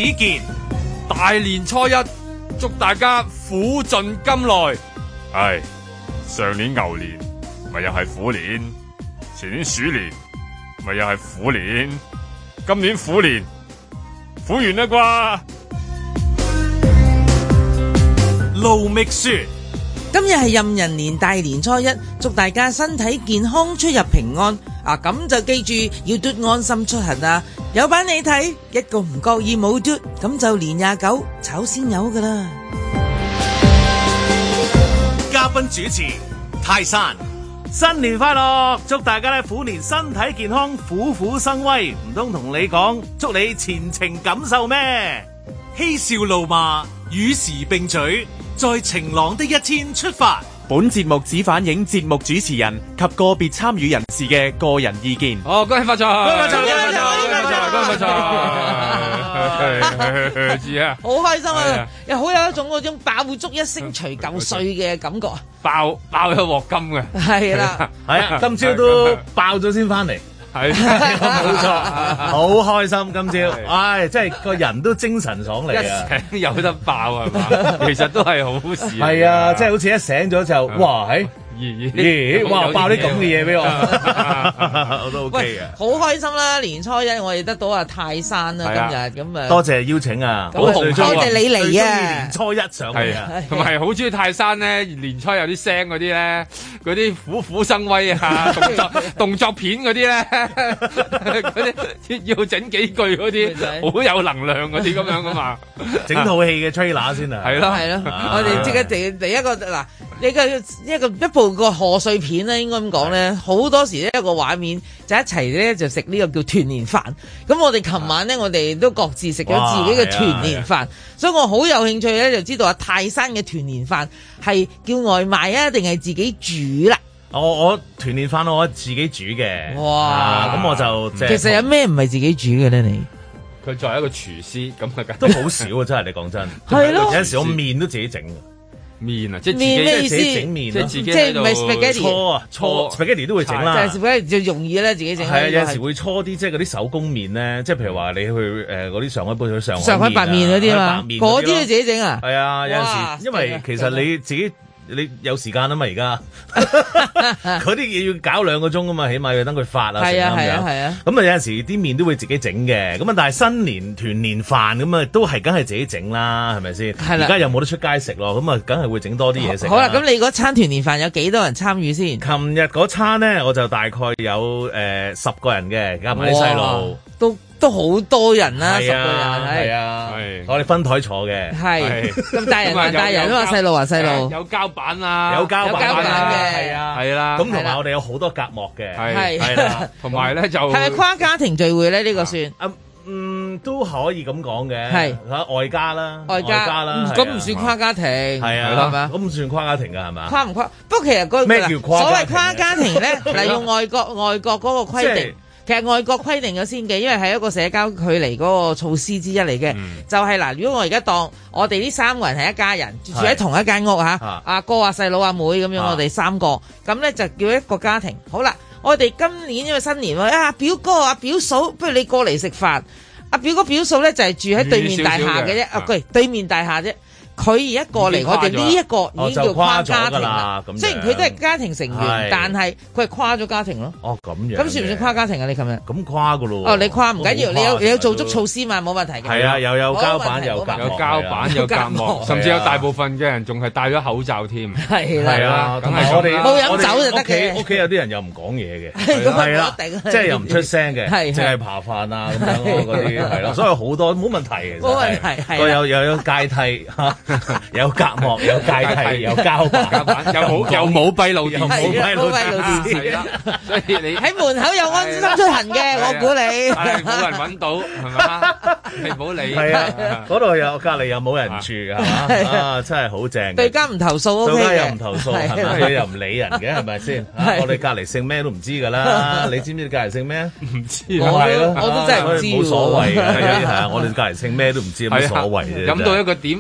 見。 大年初一，祝大家苦盡甘來。唉，上年牛年咪又係虎年，前年鼠年咪又係虎年，今年虎年苦完啦啩。 盧覓雪。 今日係壬寅年大年初一，祝大家身體健康，出入平安。咁就記住要嘟安心出行啊！有版你睇，一個唔覺意冇嘟，咁就年29炒鮮魷噶啦。 嘉賓主持泰山，新年快樂！祝大家咧虎年身體健康，虎虎生威。唔通同你講，祝你前程錦繡咩？嬉笑怒罵，與時並舉。在晴朗的一天出發。 本節目只反映節目主持人及個別參與人士嘅個人意見。 恭喜發財！恭喜發財！恭喜發財！恭喜發財！知啊！ 好開心啊！又好有一種嗰種爆竹一聲除舊歲嘅感覺。 爆一鑊金嘅。係啦， 係啊！今朝都爆咗先翻嚟。 係冇錯，好開心今朝，唉，真係個人都精神爽利啊！ 一醒有得爆係嘛？其實都係好事。 係啊，即係好似一醒咗就，哇，咦，哇，爆啲咁嘅嘢俾我，我都 OK 嘅。 好開心啦！年初一我哋得到阿泰山啦，今日咁啊， 多謝邀請啊， 多謝你嚟啊！ 年初一上嚟啊， 同埋好中意泰山咧，年初有啲聲嗰啲咧，嗰啲虎虎生威啊，動作片嗰啲咧，嗰啲要整幾句嗰啲，好有能量嗰啲咁樣噶嘛， 整套戲嘅 trailer 先啊， 係咯，我哋即刻第一個嗱。一部個賀歲片咧，應該咁講咧，好多時呢一個畫面就一齊咧就食呢個叫團年飯。咁我哋琴晚咧，我哋都各自食咗自己嘅團年飯，所以我好有興趣咧，就知道阿泰山嘅團年飯係叫外賣啊，定係自己煮啦？ 我團年飯我自己煮嘅。哇！咁我就其實有咩唔係自己煮嘅咧？你佢作為一個廚師，咁都好少啊！真係你講真， 係咯， 有陣時我麵都自己整。 麵啊，即係自己整麵， 即係自己即係唔係 spaghetti 搓 spaghetti 都會整啦， 就係 spaghetti 最容易咧，自己整。 係啊，有陣時會搓啲即係嗰啲手工麵咧，即係譬如話你去嗰啲上海杯去上海白麵嗰啲嘛，嗰啲都自己整啊。 係啊，有陣時因為其實你自己。你有時間啊嘛？而家嗰啲嘢要搞2個鐘啊嘛，起碼要等佢發啊， 係啊， 係啊，係啊。咁啊有陣時啲麵都會自己整嘅，咁啊但係新年團年飯咁啊都係梗係自己整啦，係咪先？係啦。而家又冇得出街食咯，咁啊梗係會整多啲嘢食。 好啦，咁你嗰餐團年飯有幾多人參與先？ 琴日嗰餐咧，我就大概有10個人嘅，加埋啲細路都好多人啦，10個人係啊，我哋分台坐嘅， 係咁大人都話細路話細路， 有膠板啊， 有膠板嘅， 係啊， 係啦， 咁同埋我哋有好多隔膜嘅， 係啦， 同埋咧就係咪跨家庭聚會咧？呢個算都可以咁講嘅， 係外家啦， 咁唔算跨家庭， 係啊，係咪？咁唔算跨家庭㗎係嘛？ 跨唔跨？不過其實咩叫跨？ 所謂跨家庭咧，例如外國嗰個規定。其實外國規定咗先嘅，因為係一個社交距離嗰個措施之一嚟嘅，就係嗱，如果我而家當我哋呢3個人係一家人，住喺同一間屋嚇，阿哥啊、細佬阿妹咁樣，我哋3個，咁咧就叫一個家庭。好啦，我哋今年因為新年喎，表哥啊、表嫂，不如你過嚟食飯。阿表哥表嫂咧就係住喺對面大廈嘅啫，對面大廈啫。佢而家過嚟，我哋呢一個已經叫跨家庭啦。雖然佢都係家庭成員，但係佢係跨咗家庭咯。 哦，咁樣。咁算唔算跨家庭啊？你琴日咁跨噶咯。 哦，你跨唔緊要，你有做足措施嘛，冇問題嘅。 係啊，又有膠板，有隔膜，甚至有大部分嘅人仲係戴咗口罩添。 係啦。 係啊，同埋我哋冇飲酒就得嘅。 屋企有啲人又唔講嘢嘅。係啦，即係又唔出聲嘅，淨係扒飯啊咁樣嗰啲係啦，所以好多冇問題嘅。 冇問題係。 又有階梯有隔膜，有階梯，有膠板， 又冇閉路電視， 係啦。所以你喺門口有安心出行嘅，我估你係冇人揾到係嘛？你唔好理。 係啊，嗰度隔離又冇人住係嘛？啊，真係好正。 對家唔投訴， 對家又唔投訴，係咪？你又唔理人嘅係咪先？我哋隔離姓咩都唔知㗎啦。你知唔知你隔離姓咩？ 唔知。 我都真係唔知。 冇所謂嘅，係啊！我哋隔離姓咩都唔知，有乜所謂啫？ 飲到一個點，老豆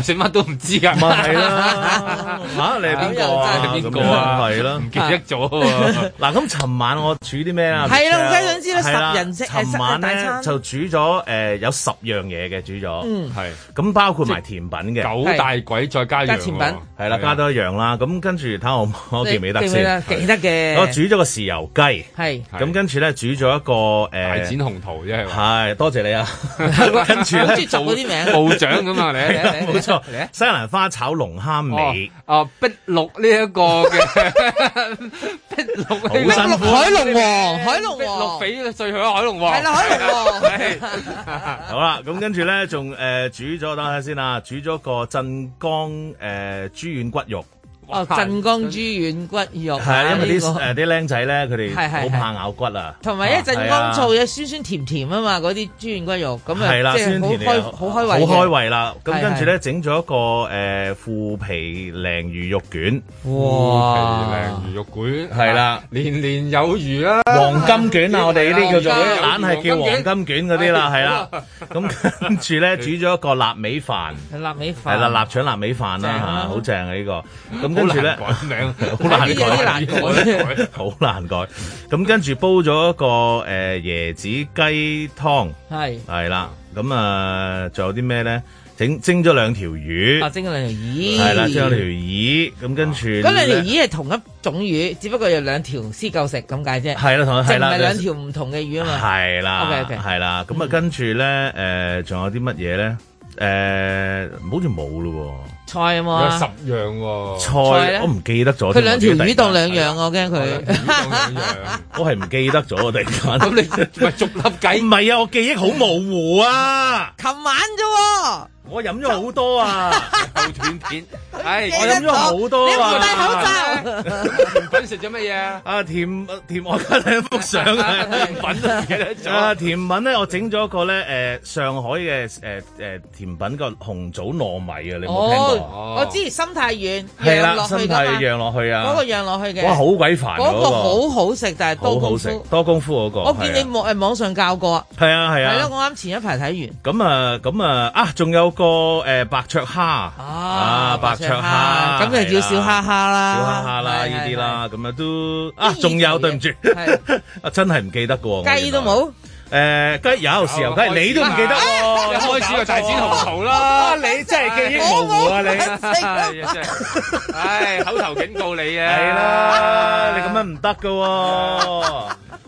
食乜都唔知㗎。 咪係啦嚇，你係邊個啊？ 你邊個啊？ 係啦， 唔記得咗喎。嗱， 咁尋晚我煮啲咩啊？ 係啦，我梗想知啦，10人食尋晚咧就煮咗有10樣嘢嘅，煮咗， 係咁包括埋甜品嘅 9大簋再加甜品， 係啦，加多一樣啦。咁跟住睇我記唔記得先？ 記得嘅。 我煮咗個豉油雞， 係咁跟住咧煮咗一個大展鴻圖啫， 係多謝你啊！跟住咧做嗰啲名部長咁啊，你冇錯，西蘭花炒龍蝦尾， 碧綠呢一個嘅碧綠好辛苦， 海龍王， 碧綠比最好海龍王， 係啦，海龍王。 好啦，咁跟住咧仲煮咗，等下先啦，煮咗個鎮江豬軟骨肉。 鎮江豬軟骨肉係啊，因為啲僆仔咧，佢哋好怕咬骨啊， 同埋一鎮江醋嘅酸酸甜甜啊嘛，嗰啲豬軟骨肉咁啊，即係好開胃， 好開胃啦。咁跟住咧整咗一個腐皮鯪魚肉卷， 哇！腐皮鯪魚肉卷係啦， 年年有餘啊！ 黃金卷啊，我哋呢啲叫做硬係叫黃金卷嗰啲啦，係啦。咁跟住咧煮咗一個臘味飯， 臘味飯係啦，臘腸臘味飯啦嚇，好正啊呢個。咁跟住咧， 改名好難改，好難改。咁跟住煲咗一個椰子雞湯，係啦。咁啊，仲有啲咩咧？蒸咗2條魚， 蒸咗2條魚， 係啦，蒸咗2條魚。咁跟住嗰2條魚係同一種魚，只不過有2條先夠食咁解啫。係啦，係啦， 唔係2條唔同嘅魚啊嘛。係啦，OK，係啦。咁啊，跟住咧，仲有啲乜嘢咧？好似冇咯。 菜有冇啊 ？10樣喎。 菜我唔記得咗。 佢2條魚當2樣，我驚佢。 我係唔記得咗，突然間。 咁你咪逐粒計？ 唔係啊，我記憶好模糊啊。 琴晚啫。 我飲咗好多啊， 後斷片， 我飲咗好多啊。 你冇戴口罩。 甜品食咗乜嘢啊？ 啊甜我而家睇幅相啊，甜品都唔記得咗。啊甜品咧，我整咗一個咧上海嘅甜品個紅棗糯米啊，你有冇聽過？ 我知心太軟， 係啦，心太軟落去啊， 嗰個釀落去嘅。 哇，好鬼煩嗰個， 好好食，但係多功夫， 多功夫嗰個。 我見你網上教過啊。 係啊係啊。 係咯，我啱前一排睇完。咁啊仲有個白灼蝦白灼蝦， 咁就叫小蝦蝦啦， 小蝦蝦啦呢啲啦，咁啊都仲有對唔住，真係唔記得噶喎， 雞都冇， 雞有豉油雞，你都唔記得喎， 一開始就大展鴻圖啦， 你真係記憶模糊啊你， 唉口頭警告你啊， 係啦，你咁樣唔得噶喎。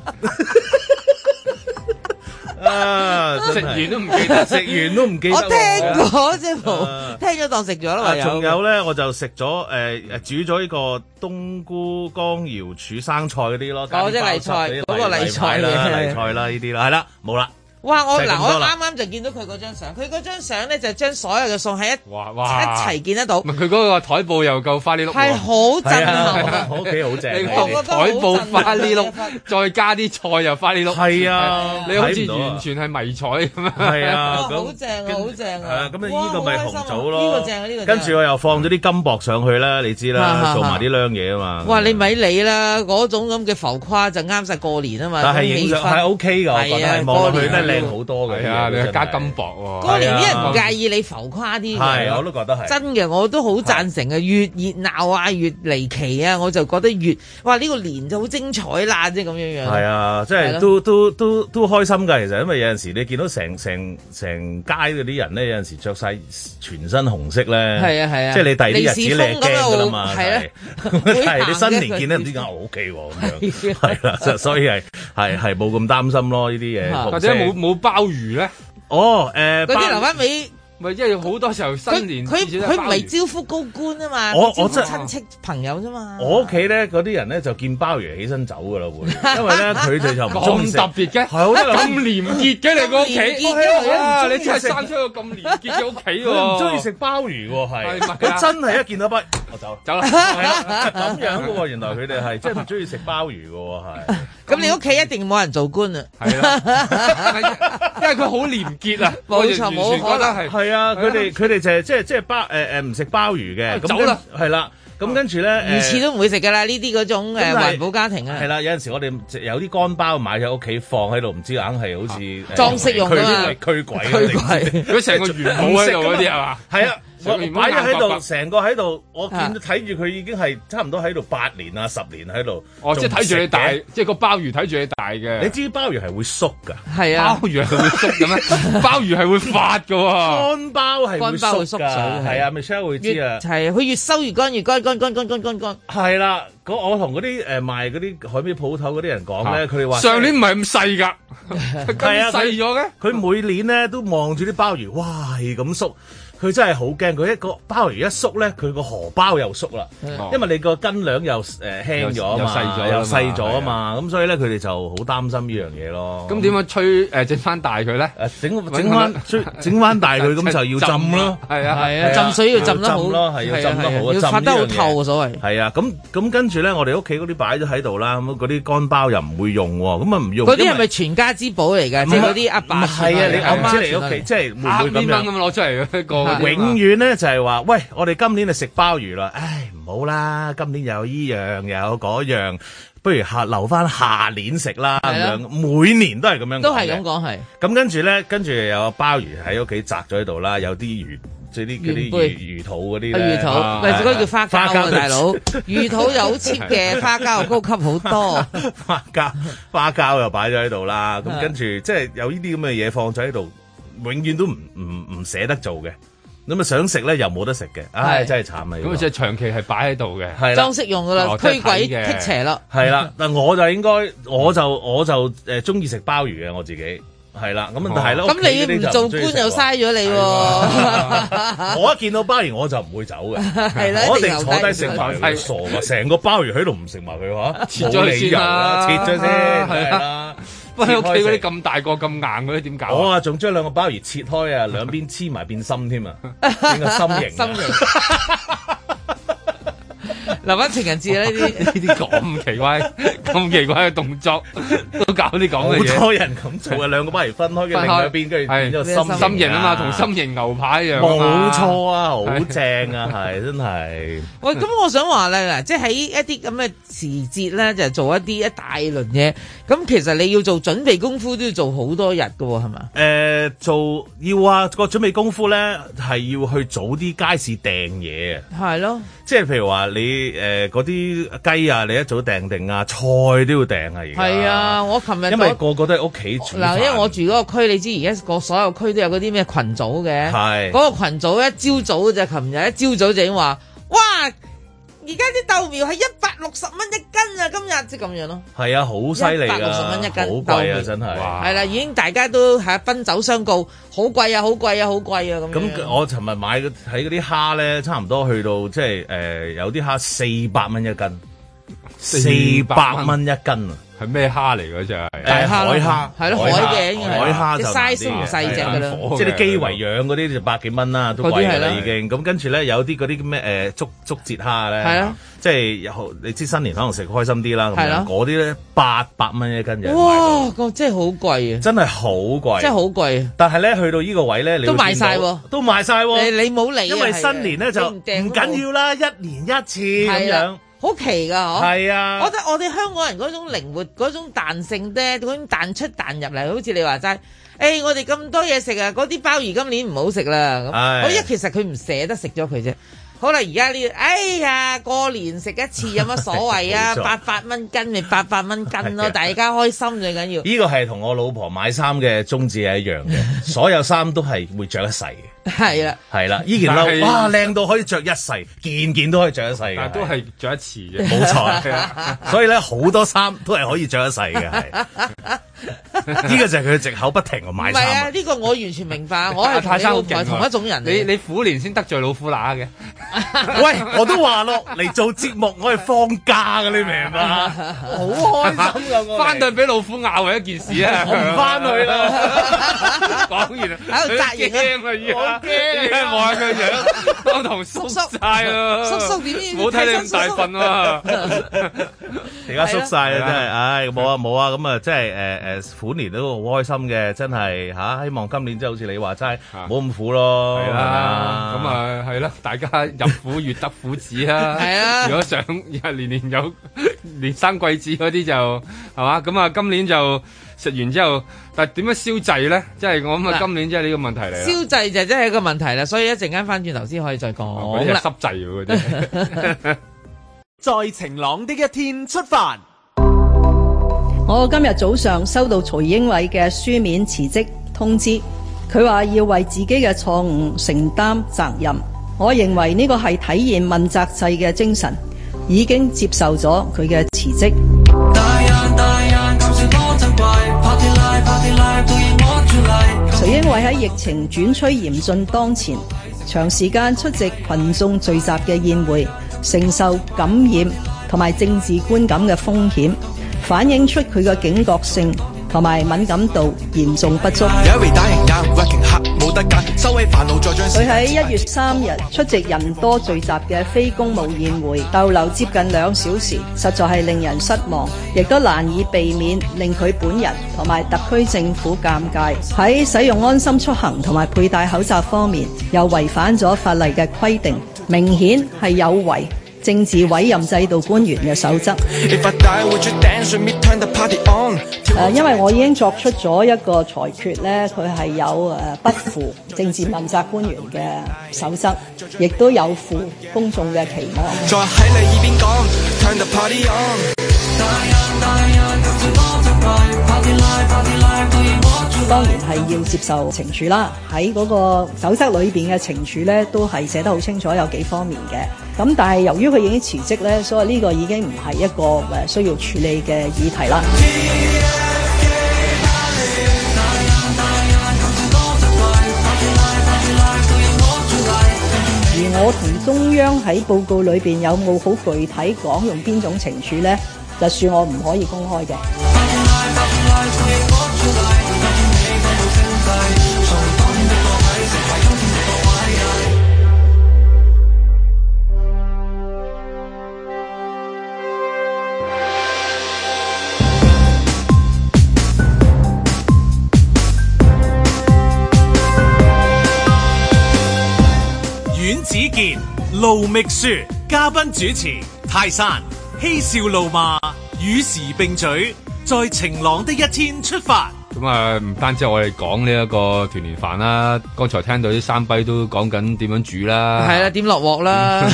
食完都唔記得，食完都唔記得。 我聽過啫，聽咗當食咗啦。 仲有咧，我就食咗煮咗呢個冬菇江瑤柱生菜嗰啲咯。 哦，即係例菜，嗰個例菜啦，例菜啦呢啲啦，係啦，冇啦。 哇！我啱啱就見到佢嗰張相，佢嗰張相咧就將所有嘅餸喺一齊見得到。 佢嗰個台布又夠花呢碌， 係好震撼， 我屋企好正。 我覺得台布花呢碌，再加啲菜又花呢碌， 係啊！ 你好似完全係迷彩咁樣。 係啊， 好正啊，好正啊！ 咁呢個咪紅棗咯， 呢個正啊，呢個。 跟住我又放咗啲金箔上去啦，你知啦，做埋啲靚嘢啊嘛。 哇！你咪理啦，嗰種咁嘅浮誇就啱晒過年啊嘛。 但係影相係 OK 㗎，我覺得望落去咧靚好多嘅。 你係加金箔喎！ 過年啲人唔介意你浮誇啲嘅， 係我都覺得係真嘅，我都好贊成嘅。越熱鬧啊，越離奇啊，我就覺得越哇呢個年就好精彩啦，即係咁樣樣。 係啊，即係都開心㗎。其實因為有陣時你見到成街嗰啲人咧，有陣時着晒全身紅色咧，係啊，即係你第二啲日子你係驚㗎啦嘛，係你新年見咧唔知點解我 OK 喎咁樣，係啦，所以係冇咁擔心咯呢啲嘢， 或者冇鮑魚咧。 嗰啲留翻尾， 咪即係好多時候新年佢唔係招呼高官啊嘛，招呼親戚朋友啫嘛。 我屋企咧嗰啲人咧就見鮑魚起身走噶啦會，因為咧佢哋就唔中意食。 咁特別嘅，咁廉潔嘅你個屋企，你真係生出個咁廉潔嘅屋企喎。 佢唔中意食鮑魚喎，係佢真係一見到鮑，我走啦，咁樣嘅喎。原來佢哋係真係唔中意食鮑魚嘅喎，係。 咁你屋企一定冇人做官啊？ 係啦，因為佢好廉潔啊， 冇錯，冇可能係啊！佢哋就係即係鮑唔食鮑魚嘅， 走啦， 係啦。咁跟住咧， 魚翅都唔會食噶啦，呢啲嗰種環保家庭啊。 係啦，有陣時我哋有啲乾鮑買喺屋企放喺度，唔知硬係好似裝飾用啊嘛， 驅鬼， 佢成個元寶喺度嗰啲係嘛？ 係啊。 我擺咗喺度，成個喺度，我見到睇住佢已經係差唔多喺度8年啊10年喺度。 哦，即係睇住你大，即係個鮑魚睇住你大嘅。 你知鮑魚係會縮㗎？ 係啊， 鮑魚係會縮嘅咩？鮑魚係會發㗎喎。 乾鮑係會縮㗎，係啊 ，Michelle 會知啊。 係佢越收越乾，越乾。係啦，我同嗰啲賣嗰啲海味鋪頭嗰啲人講咧，佢哋話上年唔係咁細㗎，咁細咗嘅。 佢每年咧都望住啲鮑魚，哇係咁縮。佢真係好驚，佢一個鮑魚一縮咧，佢個荷包又縮啦，因為你個斤兩又輕咗啊嘛，又細咗啊嘛，咁所以咧佢哋就好擔心呢樣嘢咯。 咁點樣吹整翻大佢咧？ 整翻大佢咁就要浸咯， 係啊， 浸水要浸得好咯，係要浸得好， 要發得好透所謂。 係啊，咁跟住咧，我哋屋企嗰啲擺咗喺度啦，咁嗰啲乾鮑又唔會用喎，咁啊唔用。 嗰啲係咪全家之寶嚟㗎？即係嗰啲阿爸係啊，你我唔知你屋企即係會唔會咁樣咁攞出嚟個。 永遠咧就係話，喂，我哋今年就食鮑魚啦，唉，唔好啦，今年有依樣又有嗰樣，不如留翻下年食啦咁樣，每年都係咁樣講嘅， 都係咁講係。 咁跟住有鮑魚喺屋企摘咗喺度啦，有啲魚，即係嗰啲魚肚嗰啲咧， 魚肚，或者嗰啲叫花膠啊，大佬，魚肚有好 cheap 嘅，花膠又高級好多， 花膠又擺咗喺度啦，咁跟住即係有呢啲咁嘅嘢放咗喺度，永遠都唔捨得做嘅。咁啊想食咧又冇得食嘅，唉真係慘啊！ 咁即係長期係擺喺度嘅， 係裝飾用噶啦，驅鬼辟邪咯。係啦，但我就應該我就中意食鮑魚嘅我自己，係啦。咁但係咯， 咁你唔做官又嘥咗你喎。 我一見到鮑魚我就唔會走嘅， 係啦， 我一定坐低食埋佢，傻噶！成個鮑魚喺度唔食埋佢話， 切咗理由啦， 切咗先，係啦。 不過喺屋企嗰啲咁大個咁硬嗰啲點搞？ 我仲將兩個鮑魚切開啊，兩邊黐埋變心添啊，變個心形。 留翻情人節呢啲咁奇怪嘅動作都搞啲講嘅嘢。 好多人咁做啊，兩個鮑魚分開嘅另一邊，跟住變咗心形啊嘛，同心形牛排一樣。 冇錯啊，好正啊，係真係。 喂，咁我想話咧，嗱，即係喺一啲咁嘅時節咧，就做一大輪嘢。咁其實你要做準備功夫都要做好多日噶，係嘛？ 做要啊，個準備功夫咧係要去早啲街市訂嘢啊。係咯，即係譬如話你嗰啲雞啊，你一早訂定啊，菜都要訂啊。而家係啊，我琴日因為個個都喺屋企煮。 嗱，因為我住嗰個區，你知而家個所有區都有嗰啲咩群組嘅。係嗰個群組一朝早就琴日一朝早就已經話，哇！而家啲豆苗係160蚊一斤啊！今日即係咁樣咯。係啊，好犀利啊！160蚊一斤，好貴啊！真係。係啦，已經大家都係奔走相告，好貴啊！好貴啊！好貴啊！咁。咁我尋日買喺嗰啲蝦咧，差唔多去到即係有啲蝦400蚊一斤，400蚊一斤啊！係咩蝦嚟嗰隻？海蝦，係咯，海嘅，海蝦就size唔細隻㗎啦，即係啲基圍養嗰啲就100幾蚊啦，都貴㗎啦已經。咁跟住咧有啲嗰啲咩竹節蝦咧，係啊，即係你知新年可能食開心啲啦，咁樣嗰啲咧800蚊一斤嘅。哇，個真係好貴啊！真係好貴，真係好貴。但係咧去到呢個位咧，你都賣晒喎，都賣晒喎。你冇理，因為新年咧就唔緊要啦，一年一次咁樣。好奇㗎，嗬！係啊，我覺得我哋香港人嗰種靈活、嗰種彈性咧，嗰種彈出彈入嚟，好似你話齋，我哋咁多嘢食啊，嗰啲鮑魚今年唔好食啦。咁，其實佢唔捨得食咗佢啫。好啦，而家呢？哎呀，過年食一次有乜所謂啊？800蚊斤咪800蚊斤咯，大家開心最緊要。呢個係同我老婆買衫嘅宗旨係一樣嘅，所有衫都係會着一世嘅。係啦，係啦，呢件褸哇靚到可以着一世，件件都可以着一世嘅，但都係着一次啫。冇錯，所以咧好多衫都係可以着一世嘅，係。呢個就係佢嘅藉口，不停去買衫。唔係啊，呢個我完全明白，我係泰山好勁，同一種人。你虎年先得罪老虎乸嘅。喂，我都話咯，嚟做節目我係放假嘅，你明嘛？好開心噶，我翻到去俾老虎咬係一件事啊！我唔翻去啦。講完啦，喺度紮營啊！我驚，望下佢樣，當堂縮晒啦！叔點知？冇睇你咁大份啊！而家縮晒啦，真係，唉，冇啊冇啊，咁啊，即係虎年都好開心嘅，真係嚇，希望今年即係好似你話齋，唔好咁苦咯。係啦，咁啊係啦，大家入虎越得虎子啊！係啊，如果想年年有連生貴子嗰啲就係嘛，咁啊今年就食完之後，但係點樣消滯咧？即係我諗啊，今年即係呢個問題嚟。消滯就真係一個問題啦，所以一陣間翻轉頭先可以再講。 嗰啲係濕滯嗰啲。 在晴朗的一天出發。 我今日早上收到曹英偉嘅書面辭職通知，佢話要為自己嘅錯誤承擔責任。我認為呢個係體現問責制嘅精神，已經接受咗佢嘅辭職。曹英偉喺疫情轉趨嚴峻當前，長時間出席群眾聚集嘅宴會，承受感染同埋政治觀感嘅風險，反映出佢嘅警覺性同埋敏感度嚴重不足。佢喺1月3日出席人多聚集嘅非公務宴會，逗留接近2小時，實在係令人失望，亦都難以避免令佢本人同埋特區政府尷尬。喺使用安心出行同埋佩戴口罩方面，又違反咗法例嘅規定，明顯係有違政治委任制度官員嘅守則。因為我已經作出咗一個裁決咧，佢係有不負政治問責官員嘅守則，亦都有負公眾嘅期望。再喺你耳邊講 Turn the party on。當然係要接受懲處啦，喺嗰個守則裏邊嘅懲處咧，都係寫得好清楚，有幾方面嘅。咁但係由於佢已經辭職咧，所以呢個已經唔係一個需要處理嘅議題啦。而我同中央喺報告裏邊有冇好具體講用邊種懲處咧，就算我唔可以公開嘅。 阮子健、盧覓雪，嘉賓主持泰山，嬉笑怒罵，與時並舉，在晴朗的一天出發。 咁啊，唔單止我哋講呢一個團年飯啦，剛才聽到啲山跛都講緊點樣煮啦， 係啦，點落鑊啦，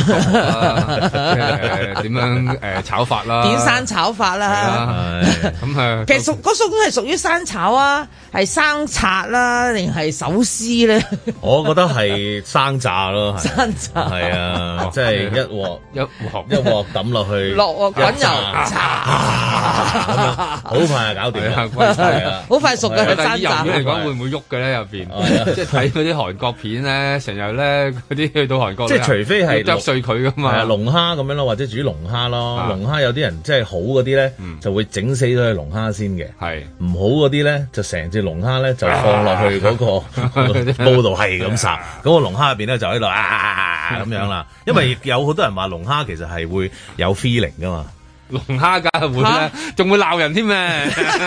點樣炒法啦， 點生炒法啦，咁啊，其實嗰種係屬於生炒啊，係生拆啦，定係手撕咧？ 我覺得係生炸咯， 生炸係啊，即係一鑊抌落去， 落鑊滾油咁樣，好快就搞掂啦， 好快熟嘅係但係生炸。 嚟講會唔會喐嘅咧？入邊即係睇嗰啲韓國片咧，成日咧嗰啲去到韓國， 即係除非係剁碎佢噶嘛，係啊， 龍蝦咁樣咯，或者煮龍蝦咯。龍蝦有啲人即係好嗰啲咧，就會整死咗隻龍蝦先嘅。係唔好嗰啲咧，就成隻龍蝦咧就放落去嗰個煲度係咁烚，嗰個龍蝦入邊咧就喺度咁樣啦。因為有好多人話龍蝦其實係會有 feeling 噶嘛。 龍蝦梗係會啦，仲會鬧人添咩？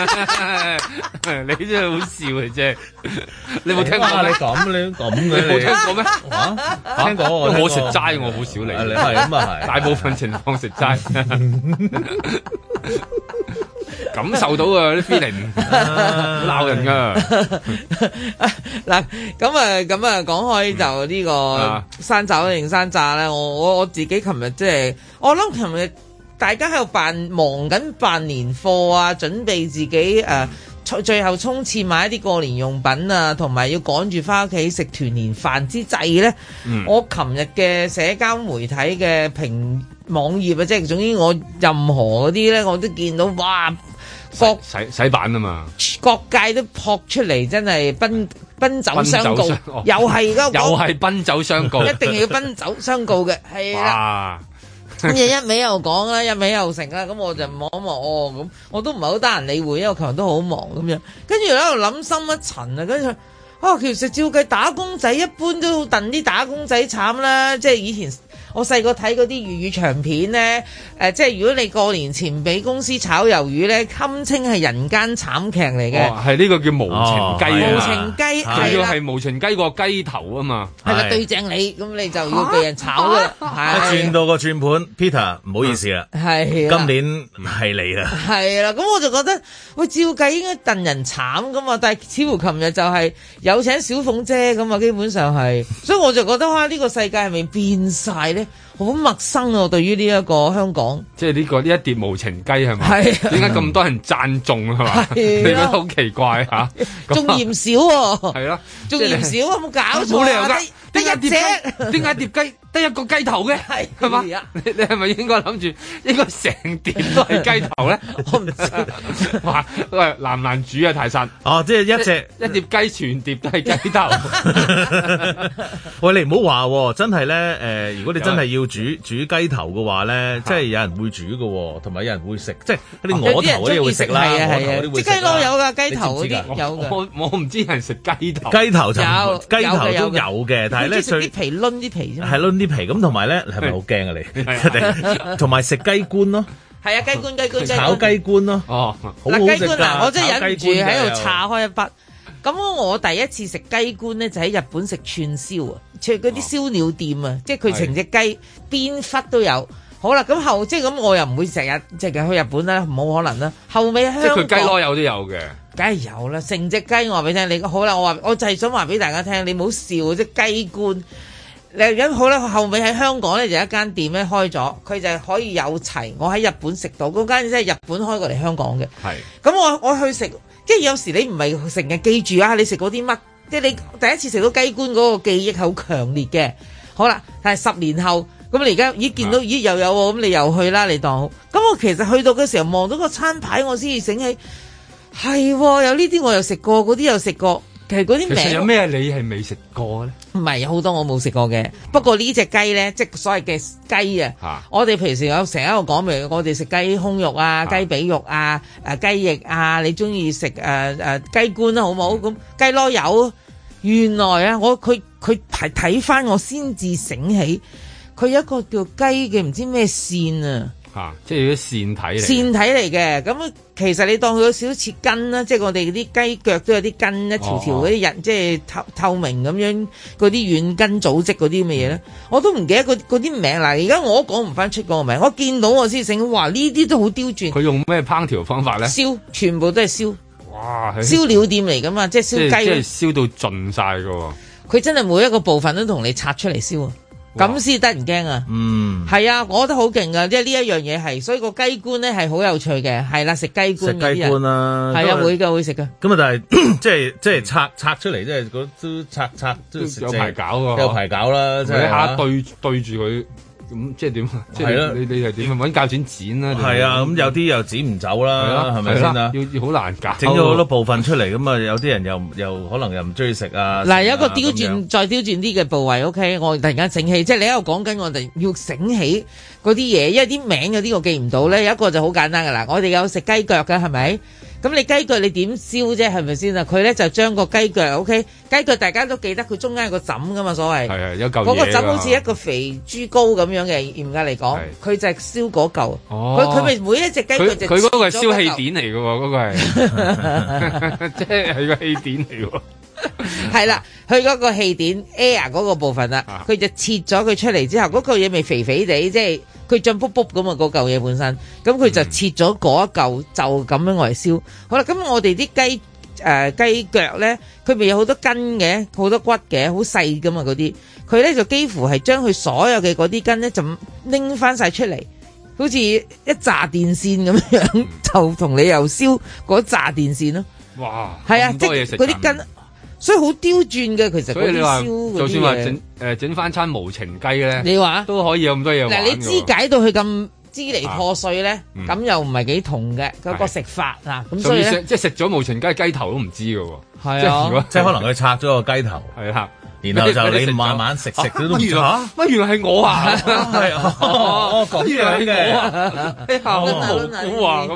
你真係好笑嘅啫！你冇聽過？ 你咁嘅，你冇聽過咩？ 聽過我食齋，我好少嚟。 你係咁啊，係大部分情況食齋，感受到啊啲 feeling，鬧人噶。 嗱，咁啊，講開就呢個生炒定生炸咧，我自己琴日即係，我諗琴日。大家喺度忙緊辦年貨啊，準備自己最後衝刺買一啲過年用品啊，同埋要趕住翻屋企食團年飯之際咧，我琴日嘅社交媒體嘅網頁啊，即係總之我任何嗰啲咧，我都見到哇， 洗版啊嘛， 各界都撲出嚟，真係奔走相告，又係奔走相告， 一定要奔走相告嘅，係啦。咁一味又講啦，一味又成啦，咁我就望一望咁我都唔係好得閒理會，因為琴日都好忙咁樣。跟住喺度諗深一層啊，跟住其實照計打工仔一般都戥啲打工仔慘啦，即係以前我細個睇嗰啲粵語長片咧，即係如果你過年前俾公司炒魷魚咧，堪稱係人間慘劇嚟嘅。 係呢個叫無情雞， 無情雞仲要係無情雞個雞頭啊嘛。 係啦，對正你，咁你就要被人炒㗎啦。 轉到個轉盤 ，Peter 唔好意思啦， 係今年係你啦。 係啦，咁我就覺得，喂，照計應該戥人慘噶嘛，但係似乎琴日就係有請小鳳姐咁啊，基本上係，所以我就覺得哇，呢個世界係咪變晒咧？好陌生啊！對於呢一個香港， 即係呢一碟無情雞係咪？係點解咁多人讚中係嘛？你覺得好奇怪嚇？ 仲嫌少喎，係咯， 仲嫌少啊！冇搞錯， 冇理由㗎， 得一隻， 點解碟雞得一個雞頭嘅？係嘛？你係咪應該諗住應該成碟都係雞頭咧？ 我唔知。 哇！喂，難唔難煮啊？泰山哦，即係一碟雞全碟都係雞頭。 喂，你唔好話喎，真係咧如果你真係要煮雞頭嘅話咧，即係有人會煮嘅，同埋有人會食，即係嗰啲鵝頭嗰啲會食啦，鵝頭嗰啲會食。 雞攞有㗎，雞頭嗰啲有㗎。 我唔知人食雞頭。 雞頭就有， 雞頭都有嘅，但係咧最啲皮攆啲皮啫嘛。 係攆啲皮咁，同埋咧係咪好驚啊你？同埋食雞冠咯。 係啊，雞冠炒雞冠咯。 哦， 好好食㗎。 我真係忍唔住喺度叉開一筆。咁我第一次食雞冠咧，就喺日本食串燒啊，嗰啲燒鳥店啊，即係佢成隻雞邊忽都有。好啦，咁即係咁，我又唔會成日即係去日本啦，冇可能啦。後尾香港即係佢雞攞有都有嘅， 梗係有啦。成隻雞我話俾你聽，你好啦，我就係想話俾大家聽，你唔好笑即係雞冠。咁好啦，後尾喺香港咧就有一間店咧開咗，佢就可以有齊。我喺日本食到嗰間，即係日本開過嚟香港嘅。係咁我去食。即係有時你唔係成日記住啊，你食嗰啲乜？即係你第一次食到雞冠嗰個記憶係好強烈嘅。好啦，但係10年後，咁你而家見到又有喎，咁你又去啦，你當。咁我其實去到嘅時候望到個餐牌，我先至醒起，係有呢啲我又食過，嗰啲又食過。其實嗰啲名其實有咩你係未食過咧？ 唔係，有好多我冇食過嘅。不過呢隻雞咧，即係所謂嘅雞啊，我哋平時有成日喺度講，譬如我哋食雞胸肉啊、雞髀肉啊、雞翼啊，你中意食雞冠啦，好唔好？咁雞攞油，原來啊，佢睇翻我先至醒起，佢有一個叫雞嘅唔知咩線啊。 即係啲線體嚟， 線體嚟嘅。咁其實你當佢有少少似筋啦，即係我哋啲雞腳都有啲筋，一條條嗰啲人，即係透明咁樣嗰啲軟筋組織嗰啲咁嘅嘢咧，我都唔記得嗰啲名。嗱，而家我都講唔翻出嗰個名，我見到我先醒，哇！呢啲都好刁鑽。 佢用咩烹調方法咧？ 燒，全部都係燒。 哇！ 燒鳥店嚟噶嘛，即係燒雞。 即係燒到盡晒噶。 佢真係每一個部分都同你拆出嚟燒啊！咁先得人驚啊！係啊，我覺得好勁噶，即係呢一樣嘢係，所以個雞冠咧係好有趣嘅，係啦，食雞冠嗰啲人。食雞冠啦，係啊，會㗎，會食㗎。 咁啊，但係即係拆出嚟，即係都拆都有排搞㗎， 有排搞啦，即係一下對住佢。咁即係點？即係你係點揾鉸剪剪啦？ 係啊，咁有啲又剪唔走啦，係咪先啊？ 要好難搞， 整咗好多部分出嚟，咁啊有啲人又可能又唔中意食啊。 嗱，有一個刁鑽再刁鑽啲嘅部位，OK，我突然間醒起，即係你喺度講緊，我哋要醒起嗰啲嘢，因為啲名有啲我記唔到咧。有一個就好簡單噶啦，我哋有食雞腳㗎，係咪？咁你雞腳你點燒啫？係咪先啊？佢咧就將個雞腳 OK， 雞腳大家都記得佢中間有個枕噶嘛，所謂係有嚿嘢。 嗰個枕好似一個肥豬膏咁樣嘅，嚴格嚟講，佢就係燒嗰嚿。佢咪每一隻雞腳就佢嗰個係燒氣墊嚟嘅喎，嗰個係即係個氣墊嚟喎。 係啦，佢嗰個氣墊 air 嗰個部分啦，佢就切咗佢出嚟之後，嗰嚿嘢咪肥肥地，即係佢脹卜卜咁啊！嗰嚿嘢本身，咁佢就切咗嗰一嚿，就咁樣嚟燒。好啦，咁我哋啲雞腳咧，佢咪有好多筋嘅，好多骨嘅，好細噶嘛嗰啲，佢咧就幾乎係將佢所有嘅嗰啲筋咧就拎翻晒出嚟，好似一紮電線咁樣，就同你又燒嗰紮電線咯。 哇！ 係啊，即係嗰啲筋。所以好刁鑽嘅，其實嗰啲燒， 就算話整翻餐無情雞咧， 你話都可以有咁多嘢玩。 嗱，你肢解到佢咁支離破碎咧，咁又唔係幾同嘅嗰個食法啊。咁所以咧， 即係食咗無情雞雞頭都唔知㗎喎。 係啊， 即係可能佢拆咗個雞頭，係啦，然後就你慢慢食都唔知嚇。 乜原來係我啊？ 係哦，咁樣嘅， 好古啊咁樣。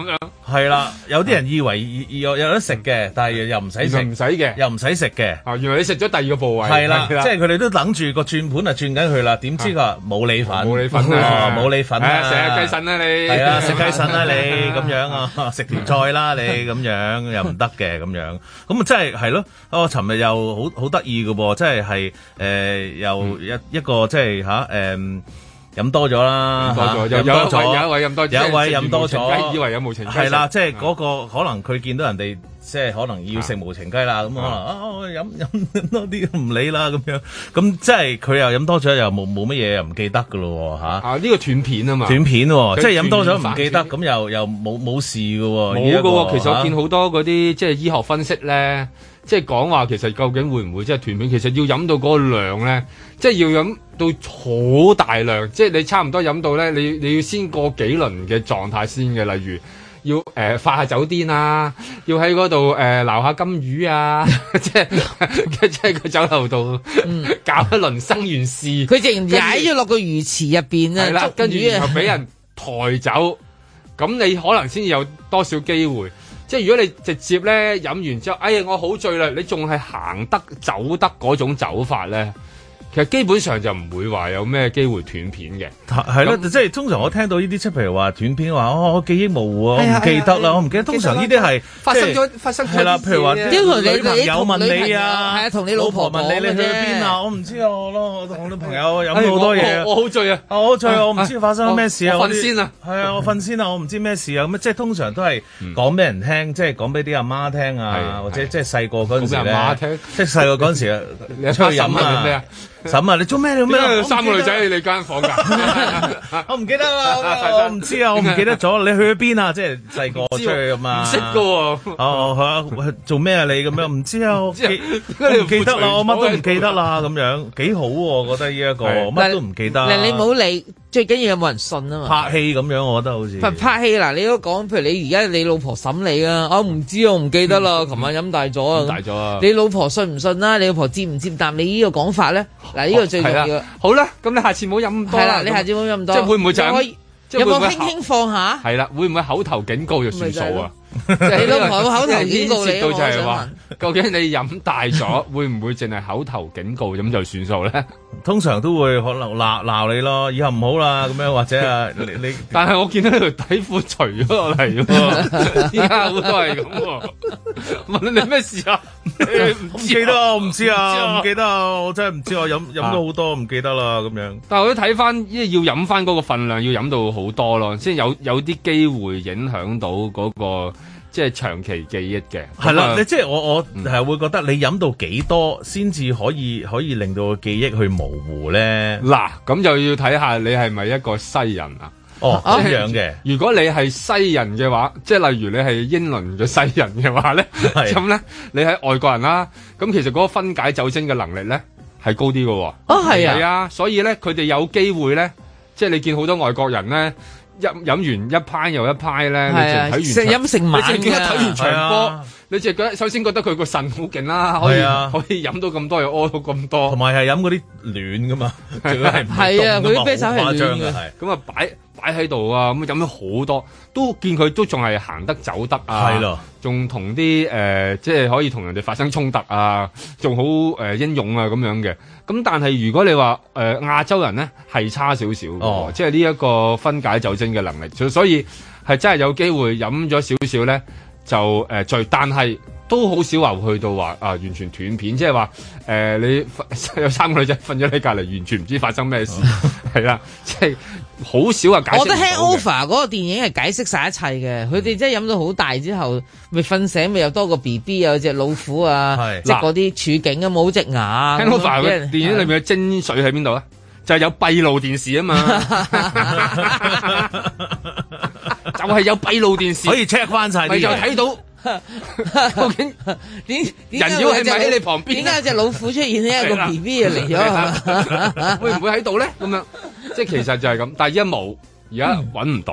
係啦，有啲人以為有得食嘅，但係又唔使食， 唔使嘅， 又唔使食嘅。 原來你食咗第二個部位。 係啦，即係佢哋都等住個轉盤轉緊佢啦，點知佢話冇你份，冇你份冇你份啊！ 食雞腎啦你， 係啊，食雞腎啦你咁樣啊，食條菜啦你咁樣又唔得嘅咁樣，咁啊真係咯，尋日又好得意嘅噃，即係又一個即係飲多咗啦，有一位飲多咗， 以為有無情雞係啦，即係嗰個可能佢見到人哋即係可能要食無情雞啦，咁可能飲多啲唔理啦咁樣，咁即係佢又飲多咗又冇乜嘢又唔記得噶咯嚇。 呢個斷片啊嘛， 斷片喎，即係飲多咗唔記得，咁又冇事嘅喎。 冇嘅喎，其實我見好多嗰啲即係醫學分析咧。即係講話其實究竟會唔會即係斷片？其實要飲到嗰個量咧，即係要飲到好大量，即係你差唔多飲到咧，你要先過幾輪嘅狀態先嘅，例如要發下酒癲啊，要喺嗰度撈下金魚啊，即係個酒樓度搞一輪生完事， 佢直情踩咗落個魚池入邊啊， 係啦，跟住然後俾人抬走，咁你可能先有多少機會。即係如果你直接咧飲完之後，哎呀我好醉啦，你仲係行得走得嗰種走法咧，其實基本上就唔會話有咩機會斷片嘅。 係咯，即係通常我聽到呢啲即係譬如話斷片話，我記憶模糊啊，我唔記得啦，我唔記得。通常呢啲係發生咗係啦，譬如話女朋友問你啊， 係啊，同你老婆問你去邊啊？我唔知啊，我同女朋友飲咗好多嘢， 我好醉啊， 我好醉啊，我唔知發生咩事啊， 我瞓先啊， 係啊，我瞓先啊，我唔知咩事啊，咁即係通常都係講俾人聽，即係講俾啲阿媽聽啊，或者即係細個嗰陣時咧，即係細個嗰陣時啊，出去飲啊。嬸啊，你做咩？你做咩？ 三個女仔喺你間房㗎， 我唔記得啦，我唔知啊，我唔記得咗。你去咗邊啊？即係細個出去咁啊？ 唔識㗎喎。 哦，做咩啊？你咁樣唔知啊？我唔記得啦，我乜都唔記得啦，咁樣幾好喎？我覺得呢一個乜都唔記得。 你冇理，最緊要有冇人信啊嘛？ 拍戲咁樣，我覺得好似拍戲嗱，你都講，譬如你而家你老婆審你啊，我唔知，我唔記得啦。琴晚飲大咗啊， 大咗啊！ 你老婆信唔信啦？你老婆接唔接答你呢個講法咧？嗱，呢個最重要。 好啦，咁你下次唔好飲咁多啦。 你下次唔好飲咁多。 即係會唔會就係有冇輕輕放下？ 係啦，會唔會口頭警告就算數啊？ 你老婆口頭警告你， 就係話究竟你飲大咗，會唔會淨係口頭警告咁就算數咧？ 通常都會可能鬧你咯，以後唔好啦咁樣，或者啊你。 但係我見到你條底褲除咗落嚟喎，依家好多係咁喎。問你咩事啊？ 唔記得啊，我唔知啊，唔記得啊，我真係唔知，我飲咗好多，唔記得啦咁樣。 但係我都睇翻，因為要飲翻嗰個份量，要飲到好多咯，先有啲機會影響到嗰個。即係長期記憶嘅， 係啦，你即係我係會覺得你飲到幾多先至可以令到個記憶去模糊咧？ 嗱，咁就要睇下你係咪一個西人啊？ 哦，咁樣嘅。如果你係西人嘅話，即係例如你係英倫嘅西人嘅話咧，咁咧你係外國人啦，咁其實嗰個分解酒精嘅能力咧係高啲嘅喎。 哦，係啊， 係啊，所以咧佢哋有機會咧，即係你見好多外國人咧。飲完一派又一派咧，你淨係睇完食飲成晚你淨係睇完場波，你淨係覺得首先覺得佢個腎好勁啦，可以飲到咁多又屙到咁多， 同埋係飲嗰啲暖噶嘛， 係啊，佢啲啤酒係暖嘅， 咁啊擺喺度啊，咁飲咗好多，都見佢都仲係行得走得啊，係咯，仲同啲即係可以同人哋發生衝突啊，仲好英勇啊咁樣嘅。咁但係如果你話亞洲人咧係差少少嘅，即係呢一個分解酒精嘅能力，所以係真係有機會飲咗少少咧就醉，但係都好少話去到話完全斷片，即係話你有三個女仔瞓咗你隔離，完全唔知發生咩事，係啦，即係好少話解釋。 我覺得 Hangover 嗰個電影係解釋晒一切嘅，佢哋真係飲到好大之後，咪瞓醒咪有多個 BB 有隻老虎啊，即係嗰啲處境啊，冇隻牙。 Hangover 嘅電影裏面嘅精髓喺邊度咧？就係有閉路電視啊嘛，就係有閉路電視可以 check 翻晒， 咪就睇到。究竟人妖係咪喺你旁邊？ 點解有隻老虎出現呢？一個 B B 就嚟咗， 會唔會喺度咧？咁樣即係其實就係咁，但係而家冇，而家揾唔到，